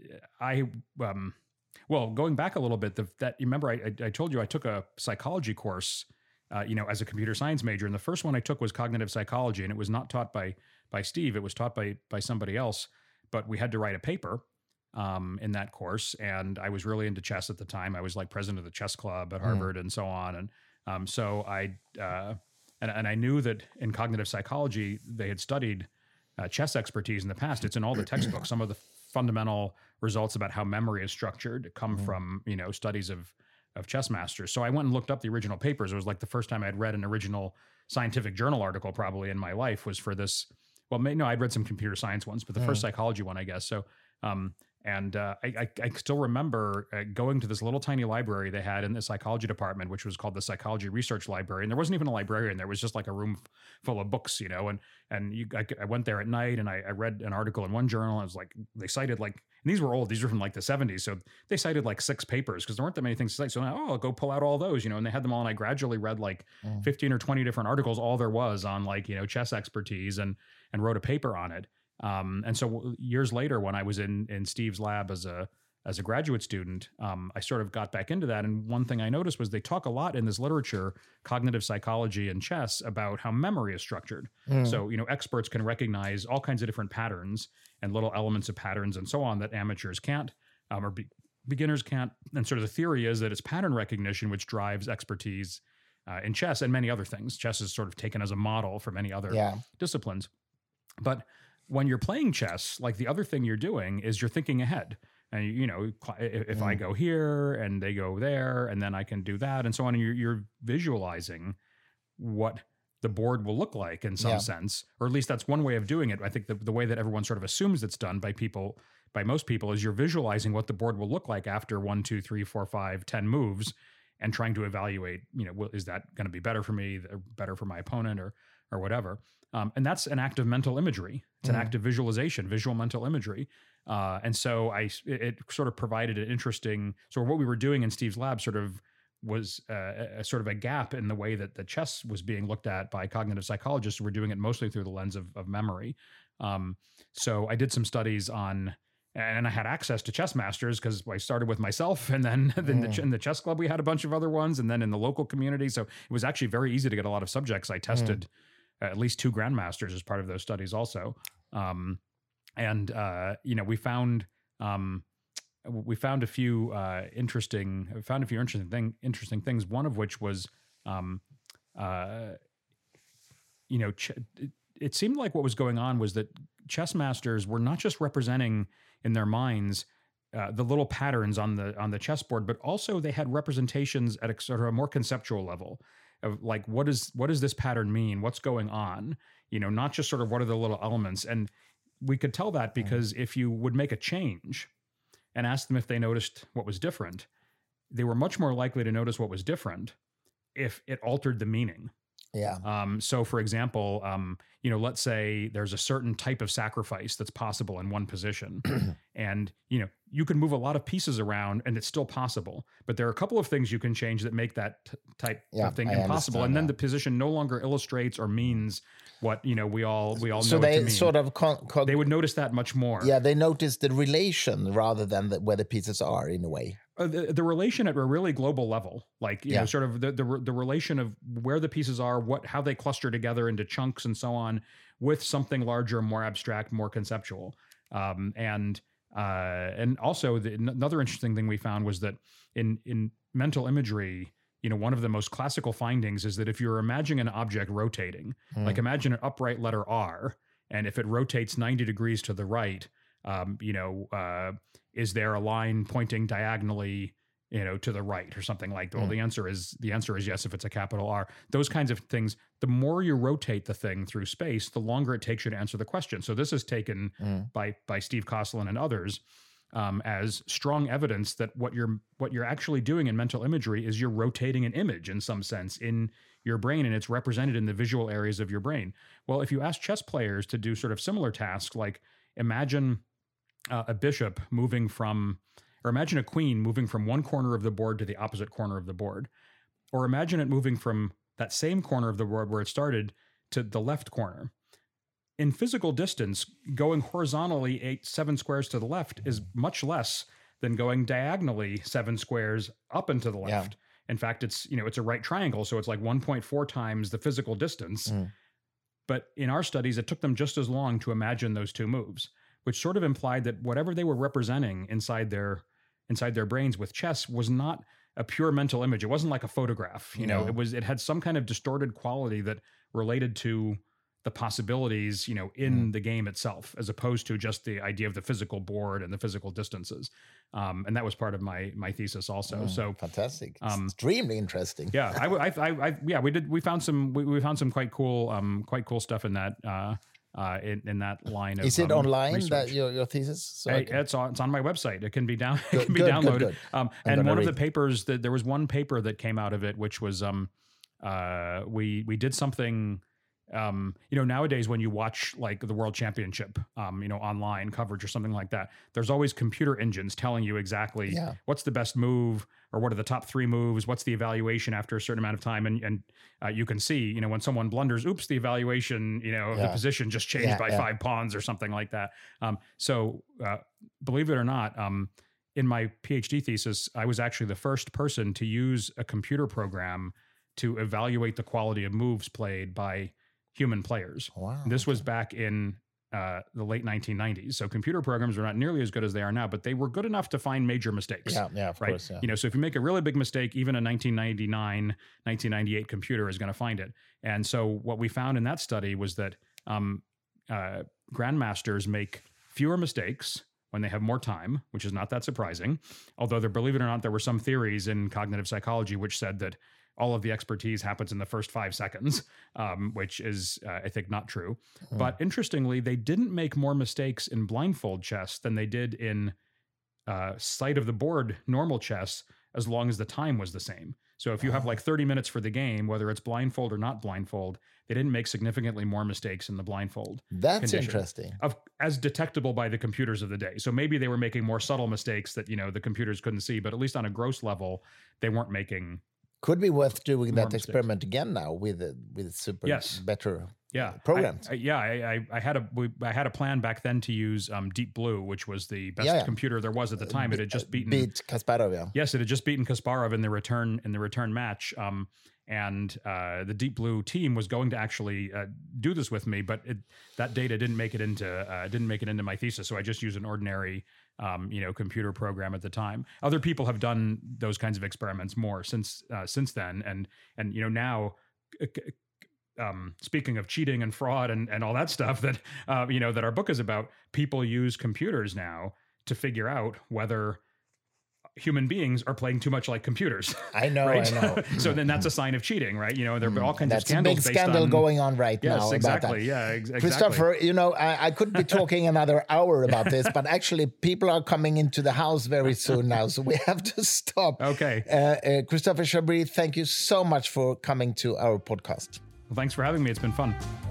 I um, well, going back a little bit, the, that you remember I, I I told you I took a psychology course. Uh, you know, as a computer science major, and the first one I took was cognitive psychology, and it was not taught by by Steve. It was taught by by somebody else. But we had to write a paper um, in that course, and I was really into chess at the time. I was like president of the chess club at Harvard, mm. and so on. And um, so I uh, and and I knew that in cognitive psychology they had studied uh, chess expertise in the past. It's in all the textbooks. Some of the fundamental results about how memory is structured come mm. from you know studies of of chess masters. So I went and looked up the original papers. It was like the first time I'd read an original scientific journal article probably in my life was for this. Well, no, I'd read some computer science ones, but the mm. first psychology one, I guess. So, um, and uh, I, I, I still remember uh, going to this little tiny library they had in the psychology department, which was called the Psychology Research Library. And there wasn't even a librarian. There was just like a room f- full of books, you know, and, and you, I, I went there at night and I, I read an article in one journal. I was like, they cited like, and these were old, these were from like the seventies. So they cited like six papers because there weren't that many things to cite. So, oh, I'll go pull out all those, you know, and they had them all. And I gradually read like mm. fifteen or twenty different articles, all there was on like, you know, chess expertise, and, and wrote a paper on it. Um, and so years later, when I was in in Steve's lab as a as a graduate student, um, I sort of got back into that. And one thing I noticed was they talk a lot in this literature, cognitive psychology and chess, about how memory is structured. Mm. So, you know, experts can recognize all kinds of different patterns and little elements of patterns and so on that amateurs can't, um, or be- beginners can't. And sort of the theory is that it's pattern recognition which drives expertise uh, in chess and many other things. Chess is sort of taken as a model for many other Yeah. disciplines. But when you're playing chess, like the other thing you're doing is you're thinking ahead. And, you know, if, if I go here and they go there, and then I can do that and so on, and you're, you're visualizing what the board will look like in some Yeah. sense, or at least that's one way of doing it. I think the, the way that everyone sort of assumes it's done by people, by most people, is you're visualizing what the board will look like after one, two, three, four, five, ten moves, and trying to evaluate, you know, well, is that going to be better for me, better for my opponent, or or whatever. Um, and that's an act of mental imagery. It's an Mm. act of visualization, visual mental imagery. Uh, and so I, it, it sort of provided an interesting, so what we were doing in Steve's lab sort of was uh, a, a sort of a gap in the way that the chess was being looked at by cognitive psychologists who were doing it mostly through the lens of, of memory. Um, so I did some studies on, and I had access to chess masters because I started with myself, and then in, the, in the chess club we had a bunch of other ones, and then in the local community. So it was actually very easy to get a lot of subjects. I tested mm. at least two grandmasters as part of those studies also. Um, and, uh, you know, we found, um, we found a few uh, interesting, found a few interesting thing, interesting things. One of which was, um, uh, you know, ch- it, it seemed like what was going on was that chess masters were not just representing in their minds uh, the little patterns on the on the chessboard, but also they had representations at a sort of a more conceptual level of like, what is what does this pattern mean? What's going on? You know, not just sort of what are the little elements. And we could tell that because mm. if you would make a change and ask them if they noticed what was different, they were much more likely to notice what was different if it altered the meaning. Yeah. Um, so, for example, um, you know, let's say there's a certain type of sacrifice that's possible in one position, and you know, you can move a lot of pieces around, and it's still possible. But there are a couple of things you can change that make that t- type yeah, of thing I impossible, and then that. the position no longer illustrates or means what you know we all we all so know. they it to mean. sort of con- con- they would notice that much more. Yeah, they notice the relation rather than the, where the pieces are in a way. Uh, the, the relation at a really global level, like, you yeah. know, sort of the, the the relation of where the pieces are, what how they cluster together into chunks and so on, with something larger, more abstract, more conceptual. Um, and uh, and also the, another interesting thing we found was that in in mental imagery, you know, one of the most classical findings is that if you're imagining an object rotating, mm. like imagine an upright letter R, and if it rotates ninety degrees to the right, um, you know, uh, is there a line pointing diagonally, you know, to the right or something like that? Mm. Well, the answer is the answer is yes if it's a capital R. Those kinds of things, the more you rotate the thing through space, the longer it takes you to answer the question. So this is taken mm. by by Steve Kosslyn and others um, as strong evidence that what you're what you're actually doing in mental imagery is you're rotating an image in some sense in your brain, and it's represented in the visual areas of your brain. Well, if you ask chess players to do sort of similar tasks, like imagine Uh, a bishop moving from, or imagine a queen moving from one corner of the board to the opposite corner of the board, or imagine it moving from that same corner of the board where it started to the left corner. In physical distance, going horizontally eight, seven squares to the left is much less than going diagonally seven squares up and to the left. Yeah. In fact, it's, you know, it's a right triangle, so it's like one point four times the physical distance. Mm. But in our studies, it took them just as long to imagine those two moves, which sort of implied that whatever they were representing inside their inside their brains with chess was not a pure mental image. It wasn't like a photograph, you know. No. It was it had some kind of distorted quality that related to the possibilities, you know, in mm. the game itself, as opposed to just the idea of the physical board and the physical distances. Um, and that was part of my my thesis also. Mm, so fantastic, um, extremely interesting. Yeah, I, I, I, I, yeah, we did. We found some. We, we found some quite cool, um, quite cool stuff in that. Uh, Uh, in, in that line of Is it um, online research. that your, your thesis? So hey, can... It's on it's on my website. It can be down. Good, it can be good, downloaded. Good, good. Um, and one of the papers that there was one paper that came out of it, which was um, uh, we we did something. Um, you know, nowadays when you watch like the World Championship, um, you know, online coverage or something like that, there's always computer engines telling you exactly yeah. what's the best move or what are the top three moves, what's the evaluation after a certain amount of time, and and uh, you can see, you know, when someone blunders, oops, the evaluation, you know, of yeah. the position just changed yeah, by yeah. five pawns or something like that. Um, so uh, believe it or not, um, in my PhD thesis, I was actually the first person to use a computer program to evaluate the quality of moves played by human players. Wow. This was back in uh, the late nineteen nineties. So computer programs are not nearly as good as they are now, but they were good enough to find major mistakes. Yeah, yeah, of right? course. Yeah. You know, so if you make a really big mistake, even a nineteen ninety-nine, nineteen ninety-eight computer is going to find it. And so what we found in that study was that um, uh, grandmasters make fewer mistakes when they have more time, which is not that surprising. Although, there, believe it or not, there were some theories in cognitive psychology which said that all of the expertise happens in the first five seconds, um, which is, uh, I think, not true. Mm. But interestingly, they didn't make more mistakes in blindfold chess than they did in uh, sight of the board normal chess, as long as the time was the same. So if you have like thirty minutes for the game, whether it's blindfold or not blindfold, they didn't make significantly more mistakes in the blindfold. That's condition, interesting. Of, as detectable by the computers of the day. So maybe they were making more subtle mistakes that, you know, the computers couldn't see, but at least on a gross level, they weren't making. Could be worth doing that mistakes. experiment again now with uh, with super yes. better yeah. programs. I, I, yeah, I, I, I had a we, I had a plan back then to use um, Deep Blue, which was the best yeah, yeah. computer there was at the time. It had just beaten beat Kasparov. Yeah. Yes, it had just beaten Kasparov in the return in the return match. Um, and uh, the Deep Blue team was going to actually uh, do this with me, but it, that data didn't make it into uh, didn't make it into my thesis. So I just used an ordinary. Um, you know, computer program at the time. Other people have done those kinds of experiments more since uh, since then, and and you know now, um, speaking of cheating and fraud and and all that stuff that uh, you know that our book is about, people use computers now to figure out whether human beings are playing too much like computers. I know, right? I know. So then that's a sign of cheating, right? You know, there are all kinds that's of scandals. That's a big scandal on, going on right yes, now. Exactly. About that. Yeah, ex- exactly. Christopher, you know, I, I could be talking another hour about this, but actually people are coming into the house very soon now, so we have to stop. Okay. Uh, uh, Christopher Chabris, thank you so much for coming to our podcast. Well, thanks for having me. It's been fun.